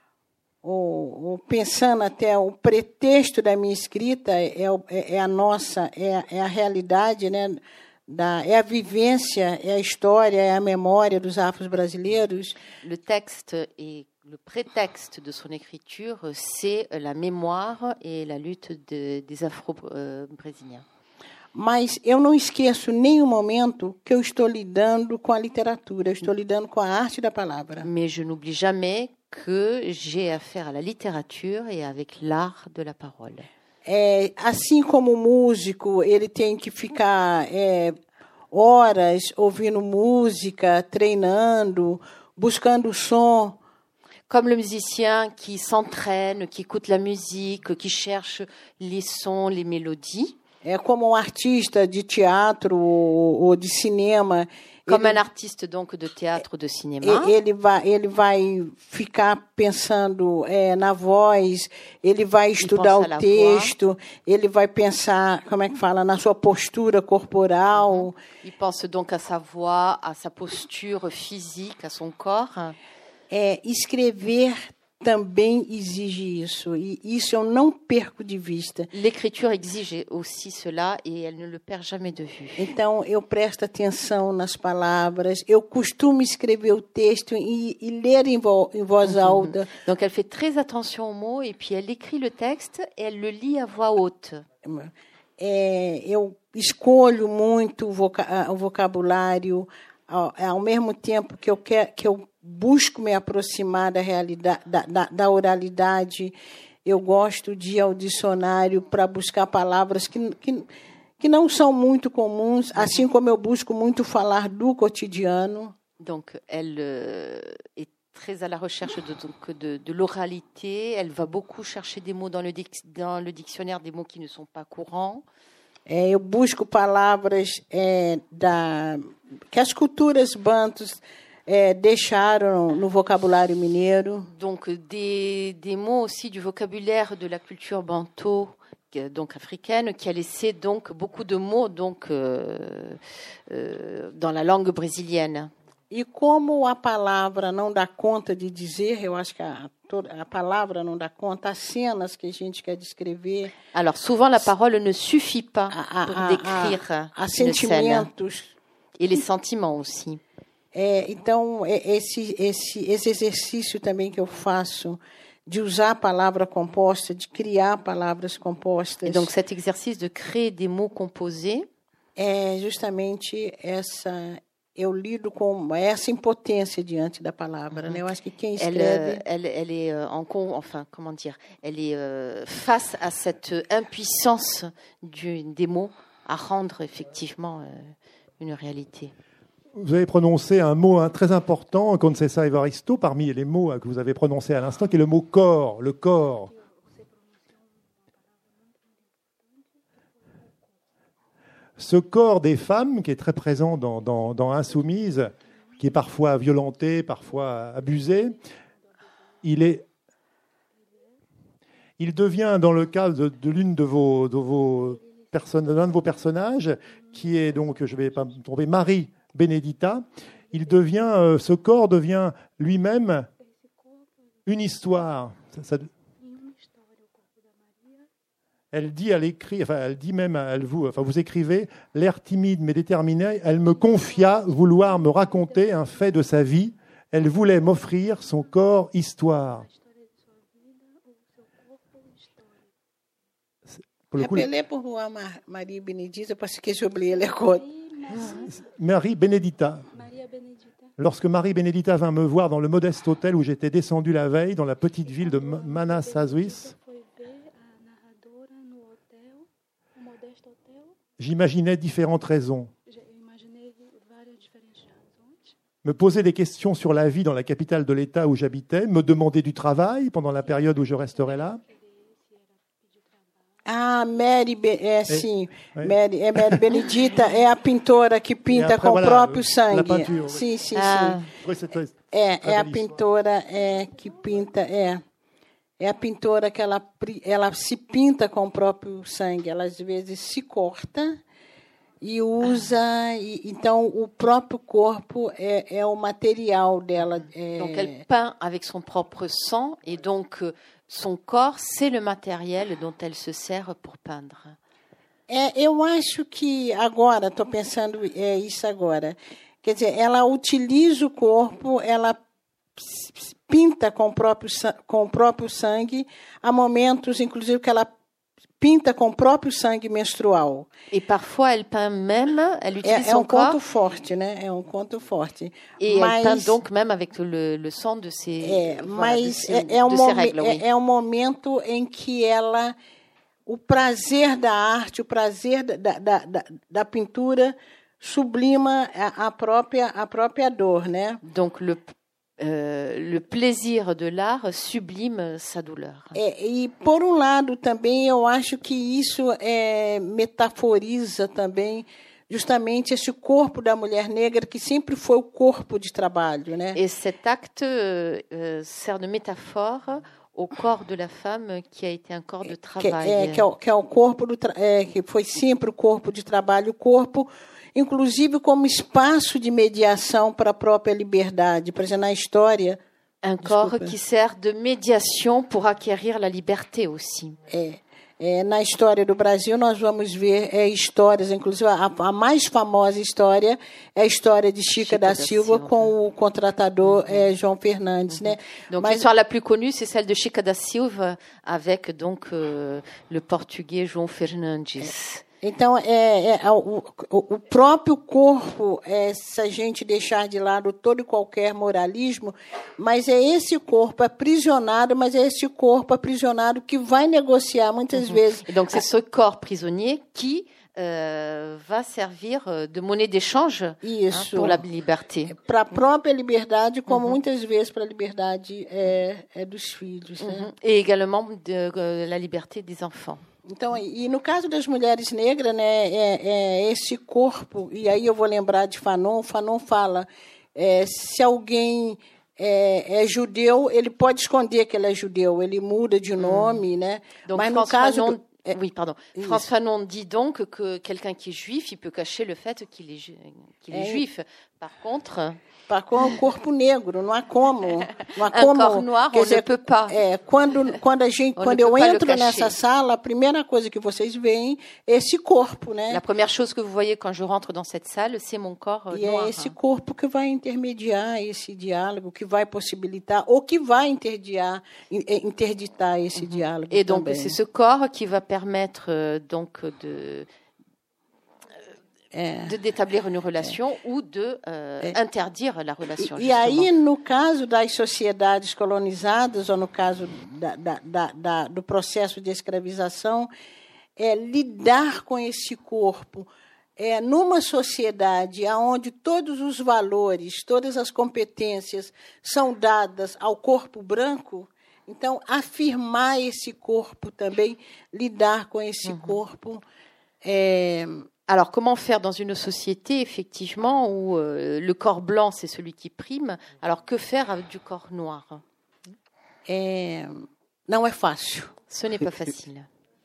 Pensando até o pretexto da minha escrita é a realidade, né? É a vivência, é a história, é a memória dos afro-brasileiros. Le texte et le prétexte de son écriture, c'est la mémoire et la lutte des afro-brésiliens. Mas eu não esqueço em nenhum momento que eu estou lidando com a literatura, eu estou lidando com a arte da palavra. Mais je n'oublie jamais que j'ai affaire à la littérature et avec l'art de la parole. Assim como o músico, ele tem que ficar horas ouvindo música, treinando, buscando o som. Comme le musicien qui s'entraîne, qui écoute la musique, qui cherche les sons, les mélodies. Como artista de teatro ou de cinema. Comme un artiste donc de théâtre ou de cinéma. Ele vai ficar pensando na voz, ele vai estudar o texto, ele vai pensar, como é que fala, na sua postura corporal. Il pense donc à sa voix, à sa posture physique, à son corps. Escrever também exige isso, e isso eu não perco de vista. L'écriture exige aussi cela et elle ne le perd jamais de vue. Então eu presto atenção nas palavras, eu costumo escrever o texto e ler em voz alta. Donc elle fait très attention aux mots et puis elle écrit le texte et elle le lit à voix haute. Eu escolho muito o vocabulário, ao mesmo tempo que eu busco me aproximar da realidade, da oralidade. Eu gosto de ir ao dicionário para buscar palavras que não são muito comuns, assim como eu busco muito falar do cotidiano. Donc, elle est très à la recherche de l'oralité. Elle va beaucoup chercher des mots dans le dictionnaire, des mots qui ne sont pas courants. Eu busco palavras que as culturas bantus deixaram no vocabulário mineiro. Donc des mots aussi du vocabulaire de la culture banto, donc africaine, qui a laissé donc beaucoup de mots donc dans la langue brésilienne. E como a palavra não dá conta de dizer, eu acho que a palavra não dá conta, as cenas que a gente quer descrever. Alors souvent la parole ne suffit pas pour décrire une scène. Et les sentiments aussi. Então esse exercício também que eu faço de usar palavra composta, de criar palavras compostas. Et donc cet exercice de créer des mots composés é justamente eu lido com essa impotência diante da palavra, né? Eu acho que quem escreve elle est elle est face à cette impuissance des mots à rendre effectivement une réalité. Vous avez prononcé un mot très important, Conceição Evaristo, parmi les mots que vous avez prononcés à l'instant, qui est le mot corps, le corps. Ce corps des femmes, qui est très présent dans Insoumise, qui est parfois violenté, parfois abusé, il devient, dans le cas de l'une de vos personnes, l'un de vos personnages, qui est donc, je ne vais pas me tromper, Marie Benedita, ce corps devient lui-même une histoire. Elle dit à l'écrit, elle dit même vous écrivez, l'air timide mais déterminé, elle me confia vouloir me raconter un fait de sa vie. Elle voulait m'offrir son corps histoire. Rappelez pour moi Marie Benedita parce que j'oublie les codes. Marie Benedita. Lorsque Marie Benedita vint me voir dans le modeste hôtel où j'étais descendu la veille, dans la petite ville de Manassas, j'imaginais différentes raisons. Me poser des questions sur la vie dans la capitale de l'État où j'habitais, me demander du travail pendant la période où je resterais là. Ah, Mary Benedita é a pintora que pinta com o próprio sangue. Sim. É a pintora que pinta, é a pintora que ela se pinta com o próprio sangue. Ela às vezes se corta e usa, então o próprio corpo é o material dela. Donc elle peint avec son propre sang et donc son corps, c'est le matériel dont elle se sert pour peindre. Eu acho que agora, estou pensando isso agora. Quer dizer, ela utiliza o corpo, ela pinta com o próprio sangue. Há momentos, inclusive, que ela pinta com o próprio sangue menstrual. Et parfois, elle peint même, elle utilise son corps. É conto forte, né? É conto forte. Et elle peint donc même avec le sang de ses règles. Oui. É um momento em que o prazer da arte, o prazer da pintura sublima a própria dor, né? Donc le plaisir de l'art sublime sa douleur. E por lado também eu acho que isso metaforiza também justamente esse corpo da mulher negra que sempre foi o corpo de trabalho, né? Et cet acte sert de métaphore au corps de la femme qui a été un corps de travail. Que é o corpo que foi sempre o corpo de trabalho, o corpo inclusive como espaço de mediação para a própria liberdade, por exemplo, na história. Un corps qui sert de médiation pour acquérir la liberté aussi. Na história do Brasil, nós vamos ver histórias, inclusive a mais famosa história é a história de Chica da Silva com o contratador João Fernandes, né? Donc l'histoire la plus connue, c'est celle de Chica da Silva avec donc le portugais João Fernandes. Então, o próprio corpo, se a gente deixar de lado todo e qualquer moralismo, mas é esse corpo aprisionado, mas é esse corpo aprisionado que vai negociar muitas vezes. Et donc, c'est ce corps prisonnier qui va servir de monnaie d'échange pour la liberté. Para a própria liberdade, como muitas vezes para a liberdade dos filhos. Né? Et également de la liberté des enfants. Então, e no caso das mulheres negras, né, esse corpo, e aí eu vou lembrar de Fanon fala, se alguém é judeu, ele pode esconder que ele é judeu, ele muda de nome, né? Donc, mas no caso Oui, pardon. Frantz Fanon dit donc que quelqu'un qui est juif, il peut cacher le fait qu'il est juif. Par contre, o corpo negro, não há como. Não há como. Corps noir, on ne peut pas. Quando eu entro nessa sala, a primeira coisa que vocês veem é esse corpo, né? La première chose que vous voyez quand je rentre dans cette salle, c'est mon corps noir. E é esse corpo que vai intermediar esse diálogo, que vai possibilitar ou que vai interditar esse diálogo. Et donc também. C'est ce corps qui va permettre donc d'établir une relation ou de interdire la relation. E aí, no caso das sociedades colonizadas, ou no caso do processo de escravização, lidar com esse corpo numa sociedade onde todos os valores, todas as competências são dadas ao corpo branco, então, afirmar esse corpo também, lidar com esse corpo. Alors, comment faire dans une société, effectivement, où le corps blanc, c'est celui qui prime, alors que faire avec du corps noir? Não é fácil. Ce n'est pas facile.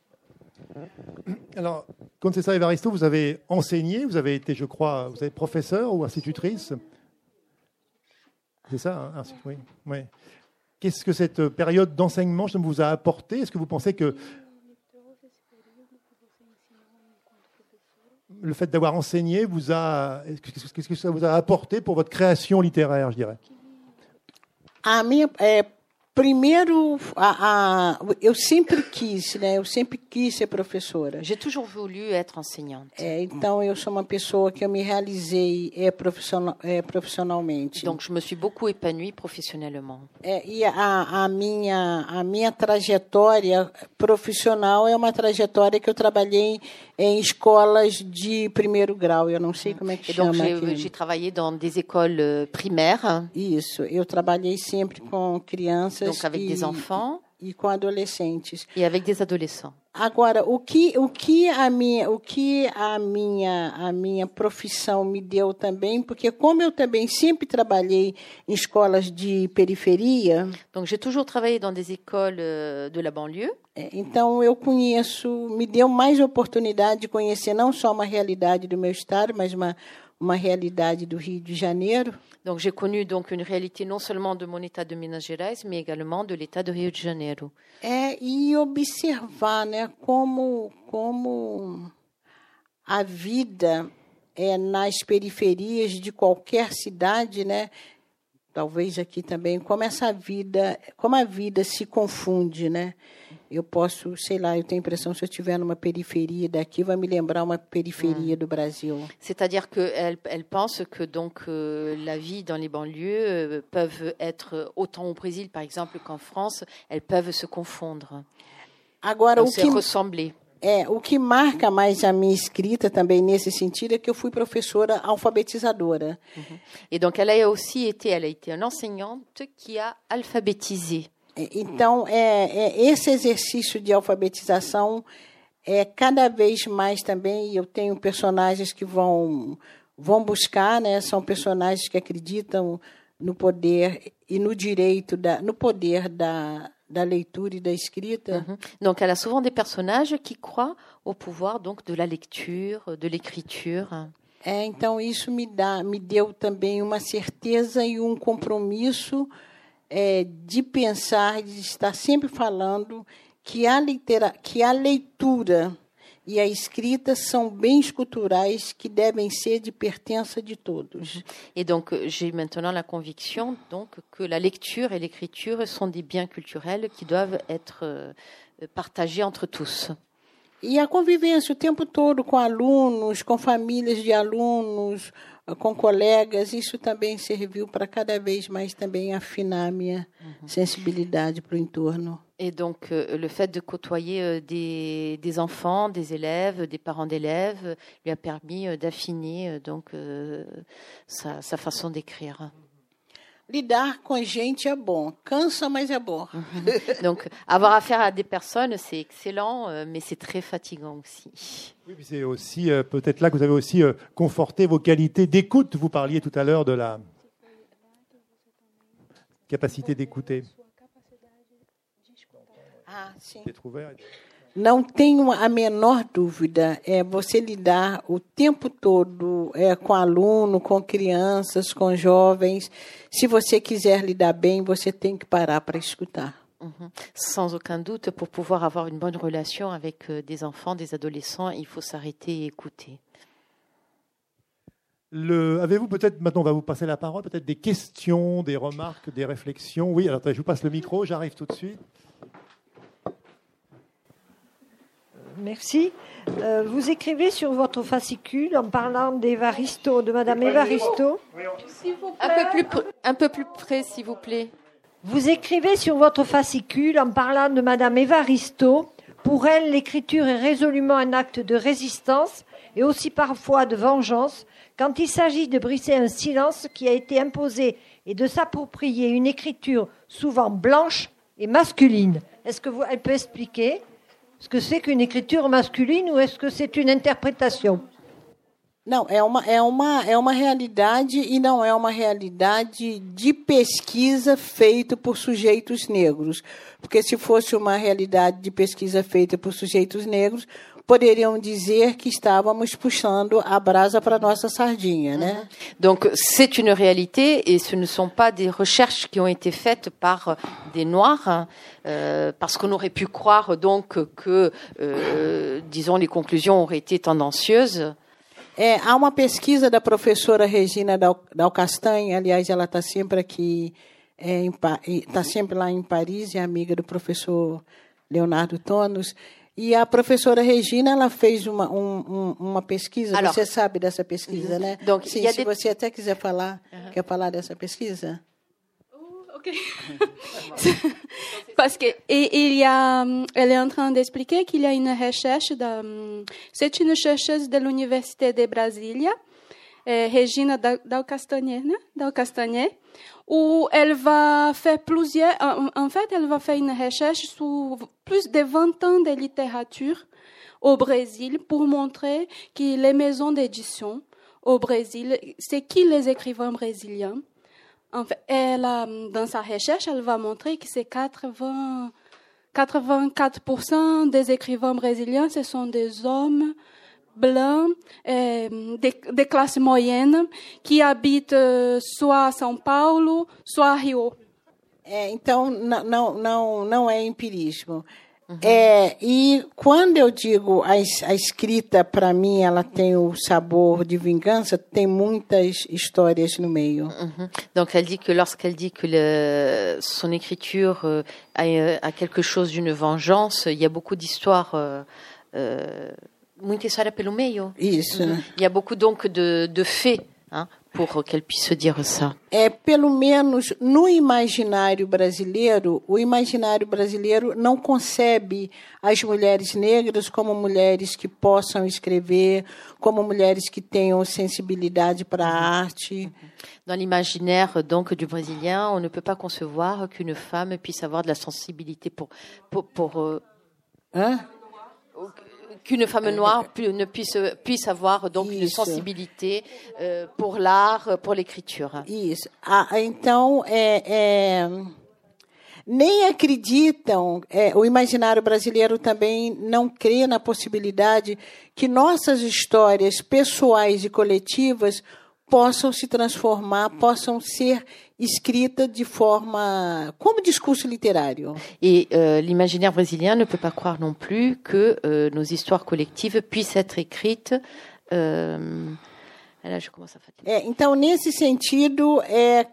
Alors, Conceição Evaristo, vous avez enseigné, vous avez été, je crois, vous êtes professeur ou institutrice. C'est ça, hein? Oui. Oui. Qu'est-ce que cette période d'enseignement vous a apporté? Est-ce que vous pensez que le fait d'avoir enseigné qu'est-ce que ça vous a apporté pour votre création littéraire, je dirais? Primeiro, eu sempre quis, né? Eu sempre quis ser professora. J'ai toujours voulu être enseignante. Então, eu sou uma pessoa que eu me realizei profissionalmente. Donc, je me suis beaucoup épanouie professionnellement. E a minha trajetória profissional é uma trajetória que eu trabalhei em escolas de primeiro grau. Eu não sei como é que chama. Donc, j'ai travaillé dans des écoles primaires. Isso, eu trabalhei sempre com crianças. Donc avec des enfants com adolescentes. Et avec des adolescents. Agora, o que a minha profissão me deu também, porque como eu também sempre trabalhei em escolas de periferia. Donc j'ai toujours travaillé dans des écoles de la banlieue. Então eu me deu mais oportunidade de conhecer não só uma realidade do meu estado, mas uma realidade do Rio de Janeiro. Donc j'ai connu donc une réalité non seulement de mon état de Minas Gerais, mais également de l'état de Rio de Janeiro. E observar, né, como a vida nas periferias de qualquer cidade, né, talvez aqui também, como a vida se confunde, né? Eu posso, sei lá, eu tenho a impressão, se eu estiver numa periferia daqui, vai me lembrar uma periferia do Brasil. C'est-à-dire qu'elle pense que donc la vie dans les banlieues peuvent être autant au Brésil, par exemple, qu'en France, elles peuvent se confondre. Agora, se ressembler. O que marca mais a minha escrita também nesse sentido é que eu fui professora alfabetizadora. Et donc elle a été une enseignante qui a alphabétisé. Então, esse exercício de alfabetização cada vez mais também, eu tenho personagens que vão buscar, né? São personagens que acreditam no poder e no direito, no poder da leitura e da escrita. Donc, elle a souvent des personnages qui croient au pouvoir donc de la lecture, de l'écriture. Então, isso me deu também uma certeza e um compromisso de pensar, de estar sempre falando que a leitura e a escrita são bens culturais que devem ser de pertença de todos. Et donc, j'ai maintenant la conviction donc, que la lecture et l'écriture sont des biens culturels qui doivent être partagés entre tous. E a convivência o tempo todo com alunos, com famílias de alunos, com colegas, isso também serviu para cada vez mais também afinar a minha sensibilidade para o entorno. Et donc, le fait de côtoyer des enfants, des élèves, des parents d'élèves, lui a permis d'affiner donc sa façon d'écrire. Lidar com gente é bom, cansa, mas é bom. Donc, avoir affaire à des personnes, c'est excellent, mais c'est très fatigant aussi. Oui, puis c'est aussi peut-être là que vous avez aussi conforté vos qualités d'écoute. Vous parliez tout à l'heure de la capacité d'écouter. Ah, sim. D'être ouvert. não tenho a menor dúvida, você lidar o tempo todo com aluno, com crianças, com jovens. Se você quiser lidar bem, você tem que parar para escutar. Sans aucun doute, pour pouvoir avoir une bonne relation avec des enfants, des adolescents, il faut s'arrêter et écouter. Avez-vous peut-être, maintenant on va vous passer la parole, peut-être des questions, des remarques, des réflexions? Oui, alors attendez, je vous passe le micro, j'arrive tout de suite. Merci. Vous écrivez sur votre fascicule en parlant d'Évaristo, de Madame Évaristo. Un peu plus près, s'il vous plaît. Vous écrivez sur votre fascicule en parlant de Madame Évaristo. Pour elle, l'écriture est résolument un acte de résistance et aussi parfois de vengeance quand il s'agit de briser un silence qui a été imposé et de s'approprier une écriture souvent blanche et masculine. Est-ce que elle peut expliquer ce que c'est qu'une écriture masculine ou est-ce que c'est une interprétation? Não, é uma realidade e não é uma realidade de pesquisa feita por sujeitos negros. Porque se fosse uma realidade de pesquisa feita por sujeitos negros, poderiam dizer que estávamos puxando a brasa para nossa sardinha, né? Donc c'est une réalité et ce ne sont pas des recherches qui ont été faites par des noirs, parce qu'on aurait pu croire donc que, disons, les conclusions auraient été tendancieuses. Há uma pesquisa da professora Regina Dal Castanho, aliás, ela está sempre aqui, está sempre lá em Paris, é amiga do professor Leonardo Tonos. E a professora Regina, ela fez uma pesquisa, alors, você sabe dessa pesquisa, né? Donc, sim, se você até quiser falar, quer falar dessa pesquisa? Ok. Parce que elle est en train d'expliquer qu'il y a une recherche, c'est une chercheuse de l'Université de Brasilia, Regina Dal Castanhe, où elle va faire elle va faire une recherche sur plus de 20 ans de littérature au Brésil pour montrer que les maisons d'édition au Brésil, c'est qui les écrivains brésiliens. En fait, dans sa recherche, elle va montrer que c'est 84% des écrivains brésiliens, ce sont des hommes blancs, des classes moyennes, qui habitent soit à São Paulo, soit à Rio. Então, não é empirismo. E quando eu digo a escrita, para mim, ela tem o sabor de vingança, tem muitas histórias no meio. Donc, elle dit que lorsqu'elle dit que son écriture a quelque chose d'une vengeance, il y a beaucoup d'histoires, muita história pelo meio. Isso. Il y a beaucoup donc de faits, hein, pour qu'elle puisse dire ça. Pelo menos no imaginário brasileiro, o imaginário brasileiro não concebe as mulheres negras como mulheres que possam escrever, como mulheres que tenham sensibilidade para a arte. Dans l'imaginaire donc du Brésilien, on ne peut pas concevoir qu'une femme puisse avoir de la sensibilité pour qu'une femme noire ne puisse avoir donc une sensibilité pour l'art, pour l'écriture. Isso. Então, nem acreditam, o imaginário brasileiro também não crê na possibilidade que nossas histórias pessoais e coletivas possam se transformar, possam ser escritas de forma comme discours littéraire. Et l'imaginaire brésilien ne peut pas croire non plus que nos histoires collectives puissent être écrites. Là, je commence à fatiguer. Então, nesse sentido,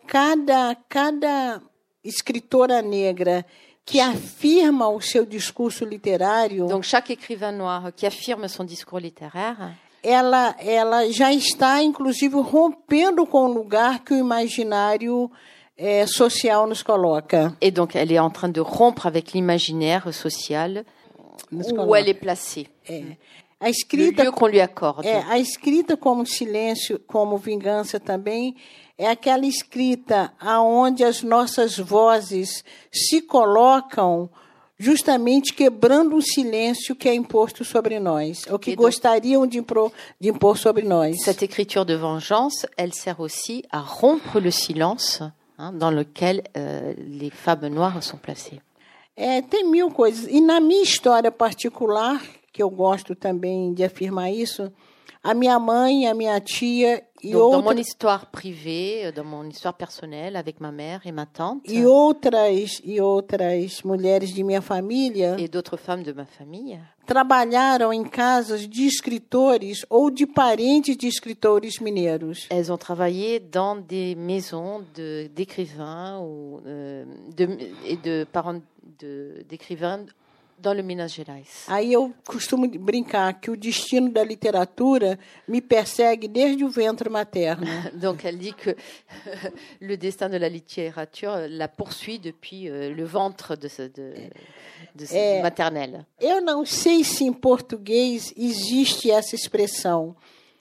cada escritora negra que affirma o seu discurso literário. Donc, chaque écrivain noir qui affirme son discours littéraire. Ela já está, inclusive, rompendo com o lugar que o imaginário social nos coloca. Et donc, elle est en train de rompre avec l'imaginaire social où elle est placée. A escrita, le lieu qu'on lui accorde. A escrita como silêncio, como vingança também, é aquela escrita aonde as nossas vozes se colocam justamente quebrando o silêncio que é imposto sobre nós, ou que gostariam de impor sobre nós. Cette écriture de vengeance, elle sert aussi à rompre le silence, hein, dans lequel les femmes noires sont placées. Tem mil coisas. E na minha história particular, que eu gosto também de afirmar isso, a minha mãe, a minha tia e Donc, outras... dans mon histoire privée, dans mon histoire personnelle, avec ma mère et ma tante, E outras mulheres de minha família et d'autres femmes de ma famille, trabalharam em casas de escritores ou de parentes de escritores mineiros. elles ont travaillé dans des maisons d'écrivains ou et de parents d'écrivains dans le Minas Gerais. Aí eu costumo brincar que o destino da literatura me persegue desde o ventre materno. Donc elle dit que le destin de la littérature la poursuit depuis le ventre de maternelle. Eu não sei se em português existe essa expressão.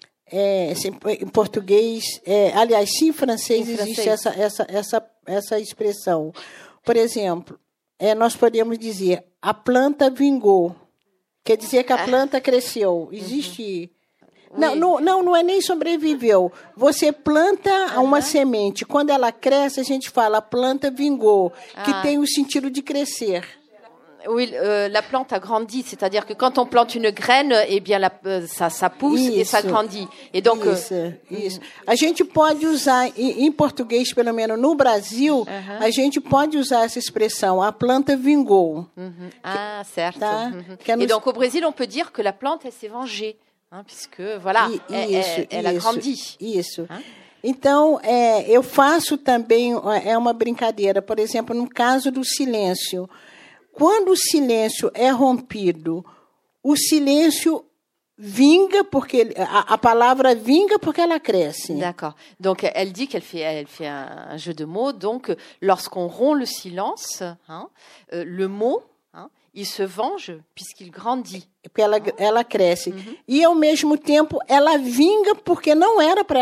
Em português, aliás, se em francês existe essa expressão. Por exemplo, nós podemos dizer a planta vingou. Quer dizer que a planta cresceu. Existe... Não é nem sobreviveu. Você planta uma semente. Quando ela cresce, a gente fala a planta vingou, que tem o sentido de crescer. Oui, la plante a grandi, c'est-à-dire que quand on plante une graine, eh bien ça pousse et ça grandit. Et donc isso. A gente pode usar em português, pelo menos no Brasil, a gente pode usar essa expressão, a planta vingou. Ah, certo. Tá? Et donc au Brésil, on peut dire que la plante elle s'est vengée, puisque voilà, elle a grandi. Isso. Então, eu faço também uma brincadeira, por exemplo, no caso do silêncio. Quando o silêncio é rompido, o silêncio vinga, porque a palavra vinga porque ela cresce. D'accord. Donc, elle dit qu'elle fait un jeu de mots. Donc, lorsqu'on rompt le silence, le mot, il se venge puisqu'il grandit. Porque ela cresce. E, ao mesmo tempo, ela vinga porque não era para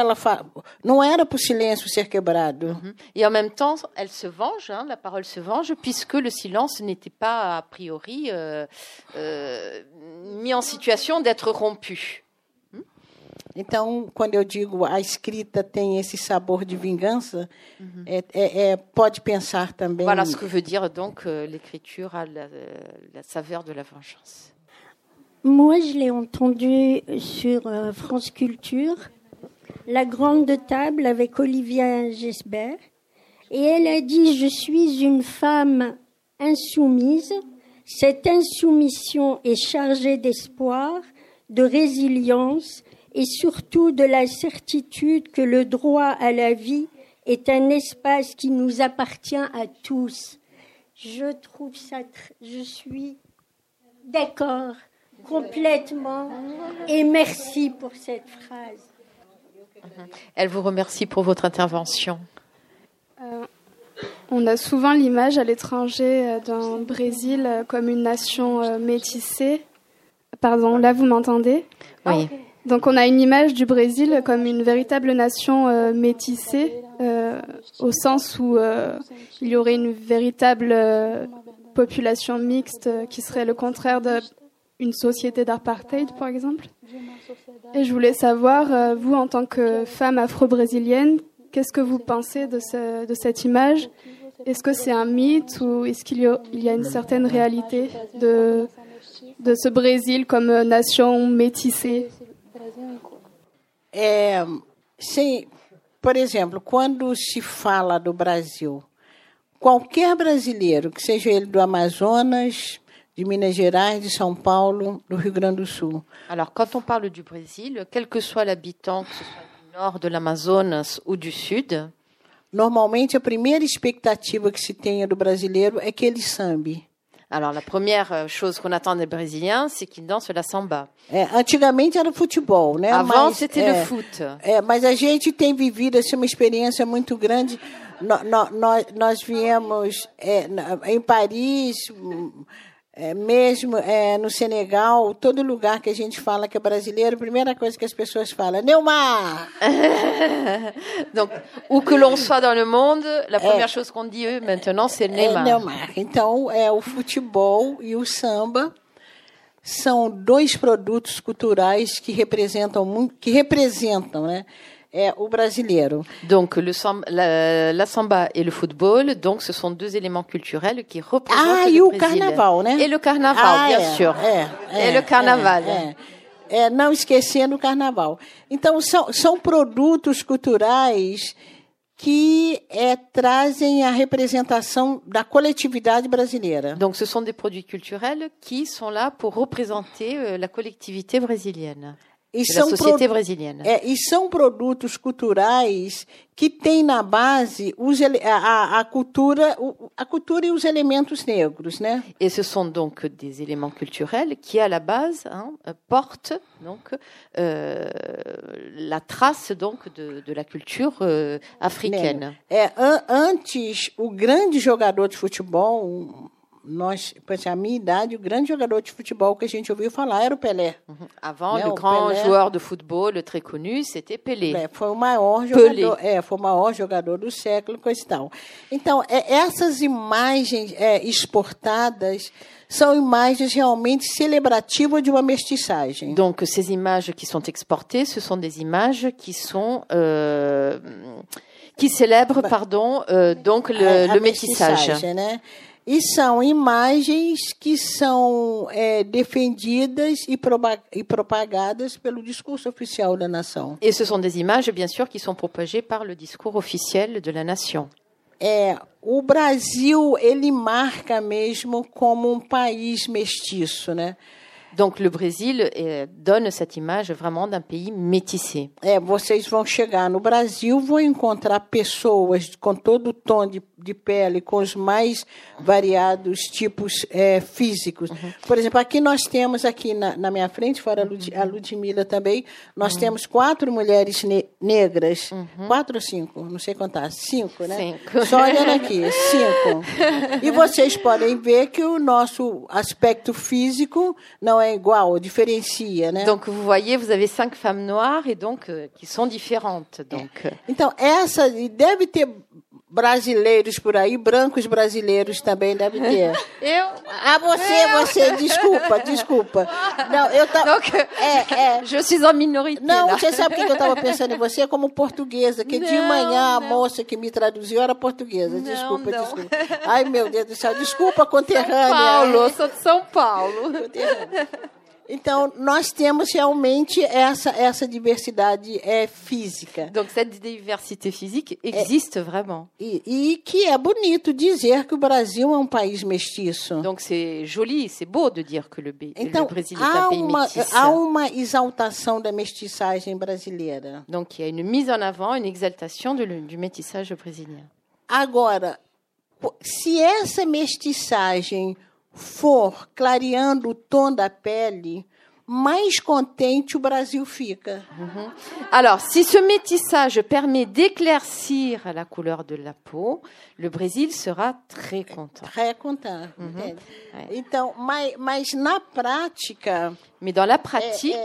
o silêncio ser quebrado. Et en même temps, elle se venge, la parole se venge, puisque le silence n'était pas, a priori, mis en situation d'être rompu. Então, quando eu digo a escrita tem esse sabor de vingança, pode pensar também... Voilà ce que veut dire, donc, l'écriture a la saveur de la vengeance. Moi, je l'ai entendu sur France Culture, La Grande Table avec Olivia Gesbert, et elle a dit « Je suis une femme insoumise. Cette insoumission est chargée d'espoir, de résilience et surtout de la certitude que le droit à la vie est un espace qui nous appartient à tous. » Je trouve ça... Je suis d'accord. Complètement. Et merci pour cette phrase. Elle vous remercie pour votre intervention. On a souvent l'image à l'étranger d'un Brésil comme une nation métissée. Pardon, là vous m'entendez ? Oui. Donc on a une image du Brésil comme une véritable nation métissée, au sens où il y aurait une véritable population mixte qui serait le contraire d'une société d'apartheid, par exemple. Et je voulais savoir, vous, en tant que femme afro-brésilienne, qu'est-ce que vous pensez de cette image ? Est-ce que c'est un mythe ou est-ce qu'il y a une certaine réalité de ce Brésil comme nation métissée ? Por exemplo, quando se fala do Brasil, qualquer brasileiro, que seja ele do Amazonas, de Minas Gerais, de São Paulo, do Rio Grande do Sul. Alors, quand on parle du Brésil, quel que soit l'habitant, que ce soit du nord de l'Amazonas ou du sud, normalmente a primeira expectativa que se tenha do brasileiro é que ele sambe. Alors, la première chose qu'on attend des Brésiliens, c'est qu'ils dansent la samba. Antigamente era futebol, né? Avant, c'était le foot. Mas a gente tem vivido assim, uma experiência muito grande. Nós viemos em Paris, mesmo no Senegal, todo lugar que a gente fala que é brasileiro, a primeira coisa que as pessoas falam, Neymar! Donc, où que l'on soit dans le monde, la première chose qu'on dit maintenant, c'est Neymar. Neymar. Então, o futebol e o samba são dois produtos culturais que representam, né? é o brasileiro. Donc la samba et le football, donc ce sont deux éléments culturels qui représentent le o Brésil. carnaval, né? Et le carnaval, bien sûr. Et le carnaval. Não esquecendo o carnaval. Então, são produtos culturais que trazem a representação da coletividade brasileira. Donc, ce sont des produits culturels qui sont là pour représenter la collectivité brésilienne. La société brésilienne. E são produtos culturais que têm na base a cultura e os elementos negros, né? Et ce sont donc des éléments culturels qui, à la base, portent donc la trace donc de la culture africaine. Antes, o grande jogador de futebol, a minha idade, o grande jogador de futebol que a gente ouviu falar era o Pelé. Avant, le grand joueur de football très connu, c'était Pelé. Foi o maior jogador, foi o maior jogador do século, coisa e tal. Então, essas imagens exportadas são imagens realmente celebrativas de uma mestiçagem. Donc, ces images qui sont exportées, ce sont des images qui sont qui célèbrent, donc le métissage. Né? E são imagens que são defendidas e propagadas pelo discurso oficial da nação. Et ce sont des images, bien sûr, qui sont propagées par le discours officiel de la nation. O Brasil, ele marca mesmo como um país mestiço, né? Donc le Brésil donne cette image vraiment d'un pays métissé. Vocês vão chegar no Brasil, vão encontrar pessoas com todo o tom de pele, com os mais variados tipos físicos. Por exemplo, aqui nós temos aqui na minha frente, fora a Ludmila também, nós temos 4 mulheres negras. 4 ou 5? Não sei contar. 5, né? 5. Só olhando aqui, 5. E vocês podem ver que o nosso aspecto físico não é igual, diferencia, né? Donc vous voyez, vous avez 5 femmes noires et donc qui sont différentes. Donc. Então essa deve ter brasileiros por aí, brancos brasileiros também deve ter. Você, desculpa. Não, Donc, je suis en minorité. Não, là. você sabe o que eu estava pensando em você como portuguesa, que de manhã a moça que me traduziu era portuguesa. Desculpa. Ai, meu Deus do céu, desculpa, conterrânea. Paulo, sou de São Paulo. Então, nós temos realmente essa diversidade física. Donc, cette diversité physique existe vraiment. E que é bonito dizer que o Brasil é um país mestiço. Donc, c'est joli, c'est beau de dire que le Brésil est un pays métis. Há uma exaltação da mestiçagem brasileira. Donc, il y a une mise en avant, une exaltation du métissage brésilien. Agora, se essa mestiçagem for clareando o tom da pele, mais contente o Brasil fica. Alors, si ce métissage permet d'éclaircir la couleur de la peau, le Brésil sera très content. Très content. Então, mas na prática... Mais dans la pratique...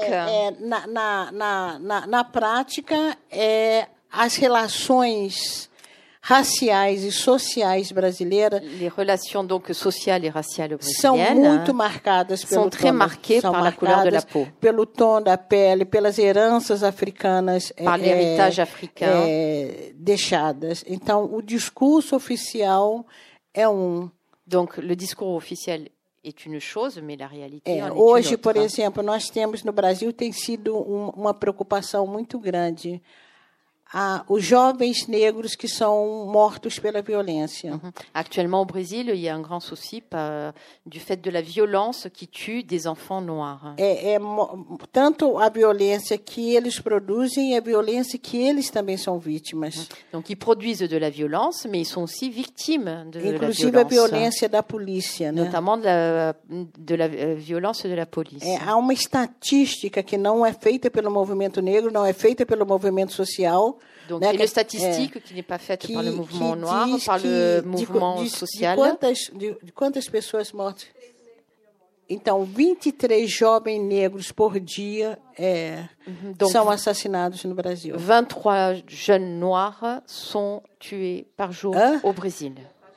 Na prática, as relações raciais e sociais brasileiras, les relations donc sociales et raciales são brésiliennes muito marcadas pelo sont très marquées par la couleur de la peau, pelo tom da pele, pelas heranças africanas, par l'héritage africain, deixadas. Então, o discurso oficial é Donc, le discours officiel est une chose, mais la réalité en est hoje, une autre. por exemplo, nós temos no Brasil tem sido uma preocupação muito grande. Os jovens negros que são mortos pela violência. Actuellement au Brésil, il y a un grand souci du fait de la violence qui tue des enfants noirs. Tanto a violência que eles produzem e a violência que eles também são vítimas. Donc ils produisent de la violence, mais ils sont aussi victimes de Inclusive la a violência da polícia, né? Notamment de la violence de la police. Há uma estatística que não é feita pelo movimento negro, não é feita pelo movimento social. Donc, il y a une statistique qui n'est pas faite par le mouvement noir, par le mouvement social. De quantas pessoas mortas? Então, 23 jovens negros por dia são assassinados no Brasil. 23 jeunes noirs sont tués par jour au Brésil.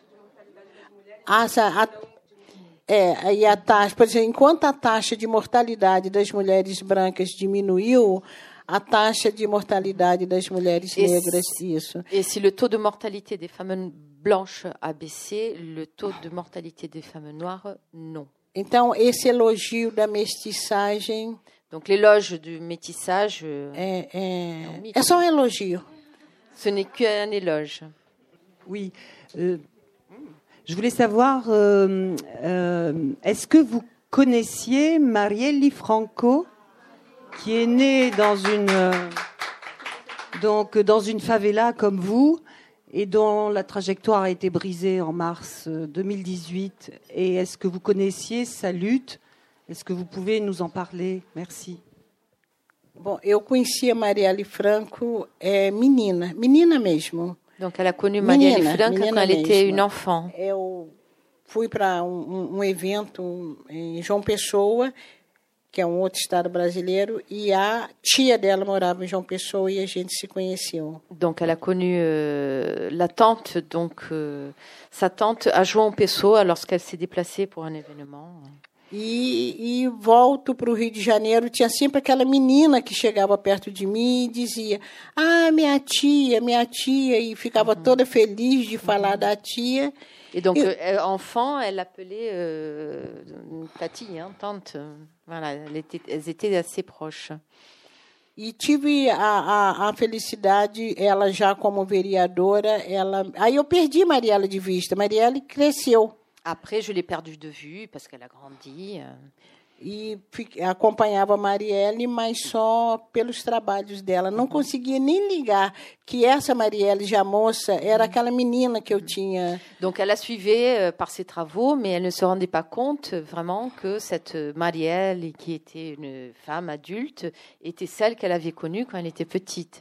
E a taxa, por exemplo, enquanto a taxa de mortalidade das mulheres brancas diminuiu, a taxa de mortalidade das mulheres negras, isso. Et si le taux de mortalité des femmes blanches a baissé, le taux de mortalité des femmes noires, non. Então, esse elogio da mestiçagem... Donc l'éloge du métissage... é só elogio. Ce n'est qu'un éloge. Oui. Je voulais savoir, est-ce que vous connaissiez Marielle Franco, qui est née dans une favela comme vous, et dont la trajectoire a été brisée en mars 2018. Et est-ce que vous connaissiez sa lutte? Est-ce que vous pouvez nous en parler? Merci. Bom, eu conheci a Marielle Franco menina mesmo. Donc elle a connu Marielle Franco quand elle était une enfant. Eu fui para evento em João Pessoa, que é outro estado brasileiro, e a tia dela morava em João Pessoa e a gente se conheceu. Donc elle a connu la tante, sa tante à João Pessoa lorsqu'elle s'est déplacée pour un événement. E volto para o Rio de Janeiro, tinha sempre aquela menina que chegava perto de mim e dizia: "Ah, minha tia", e ficava toda feliz de falar da tia. Et donc, enfant, elle appelait Tati, tante. Voilà, elles étaient assez proches. E tive a felicidade, ela já como vereadora, aí eu perdi Marielle de vista. Marielle cresceu. Après, je l'ai perdue de vue parce qu'elle a grandi. E acompanhava a Marielle, mas só pelos trabalhos dela. Não conseguia nem ligar que essa Marielle, já moça, era aquela menina que eu tinha. Donc, elle la suivait par ses travaux, mais elle ne se rendait pas compte vraiment que cette Marielle, qui était une femme adulte, était celle qu'elle avait connue quand elle était petite.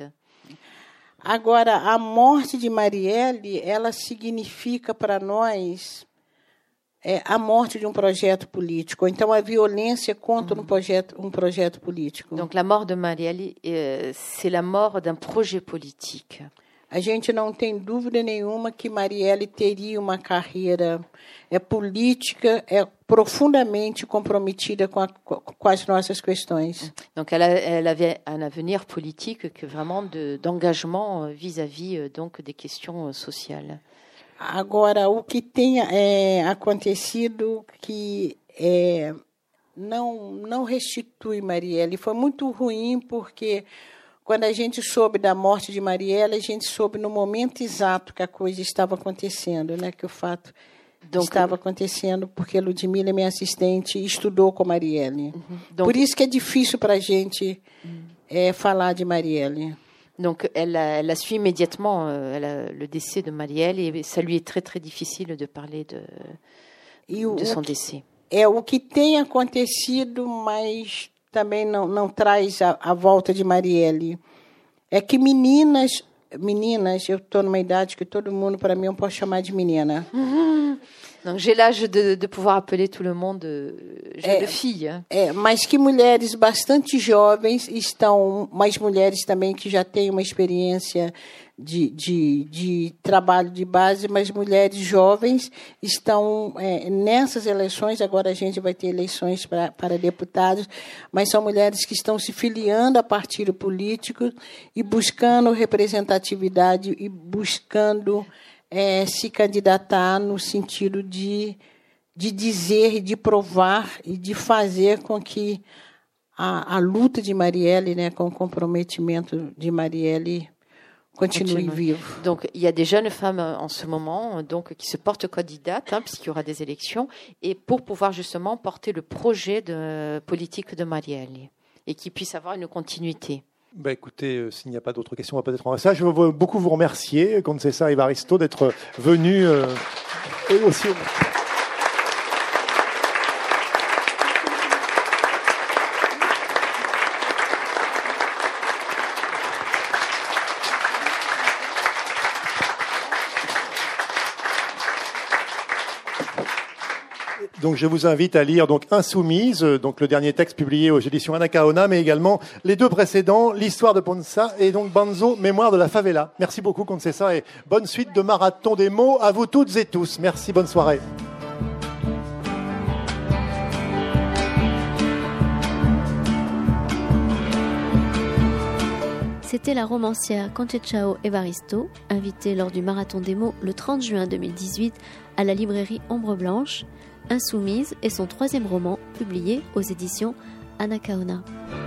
Agora, a morte de Marielle, ela significa para nós a morte de projeto político. Então, a violência contra um projeto político. Donc, la mort de Marielle, c'est la mort d'un projet politique. A gente não tem dúvida nenhuma que Marielle teria uma carreira política, profundamente comprometida com as nossas questões. Donc, elle avait un avenir politique que vraiment d'engagement vis-à-vis donc des questions sociales. Agora, o que tem acontecido que não restitui Marielle. Foi muito ruim, porque quando a gente soube da morte de Marielle, a gente soube no momento exato que a coisa estava acontecendo, né? Que o fato estava acontecendo, porque Ludmila, minha assistente, estudou com Marielle. Por isso que é difícil para a gente falar de Marielle. Donc, elle a su immédiatement le décès de Marielle et ça lui est très, très difficile de parler de son décès. O que tem acontecido, mas também não traz a volta de Marielle, é que meninas, eu estou numa idade que todo mundo, para mim, eu posso chamar de menina. Donc, j'ai l'âge de pouvoir appeler tout le monde jeune fille. Mas que mulheres bastante jovens mas mulheres também que já têm uma experiência de trabalho de base, mas mulheres jovens estão nessas eleições. Agora a gente vai ter eleições para deputados, mas são mulheres que estão se filiando a partido político e buscando representatividade e buscando se candidatar no sentido de dizer, de provar e de fazer com que a luta de Marielle, né, com o comprometimento de Marielle, continue vivo. Donc, il y a des jeunes femmes en ce moment donc, qui se portent candidates, puisqu'il y aura des élections, et pour pouvoir justement porter le projet politique de Marielle, et qui puisse avoir une continuité. Écoutez, s'il n'y a pas d'autres questions, on va peut-être en rester là. Je veux beaucoup vous remercier, Concessa Evaristo, d'être venu aussi. Donc je vous invite à lire donc Insoumise, donc le dernier texte publié aux éditions Anacaona, mais également les deux précédents, l'histoire de Ponça et donc Banzo, mémoire de la favela. Merci beaucoup Concessa et bonne suite de Marathon des mots à vous toutes et tous. Merci, bonne soirée. C'était la romancière Conceição Evaristo, invitée lors du Marathon des mots le 30 juin 2018 à la librairie Ombre Blanche. Insoumise est son 3e roman, publié aux éditions Anacaona.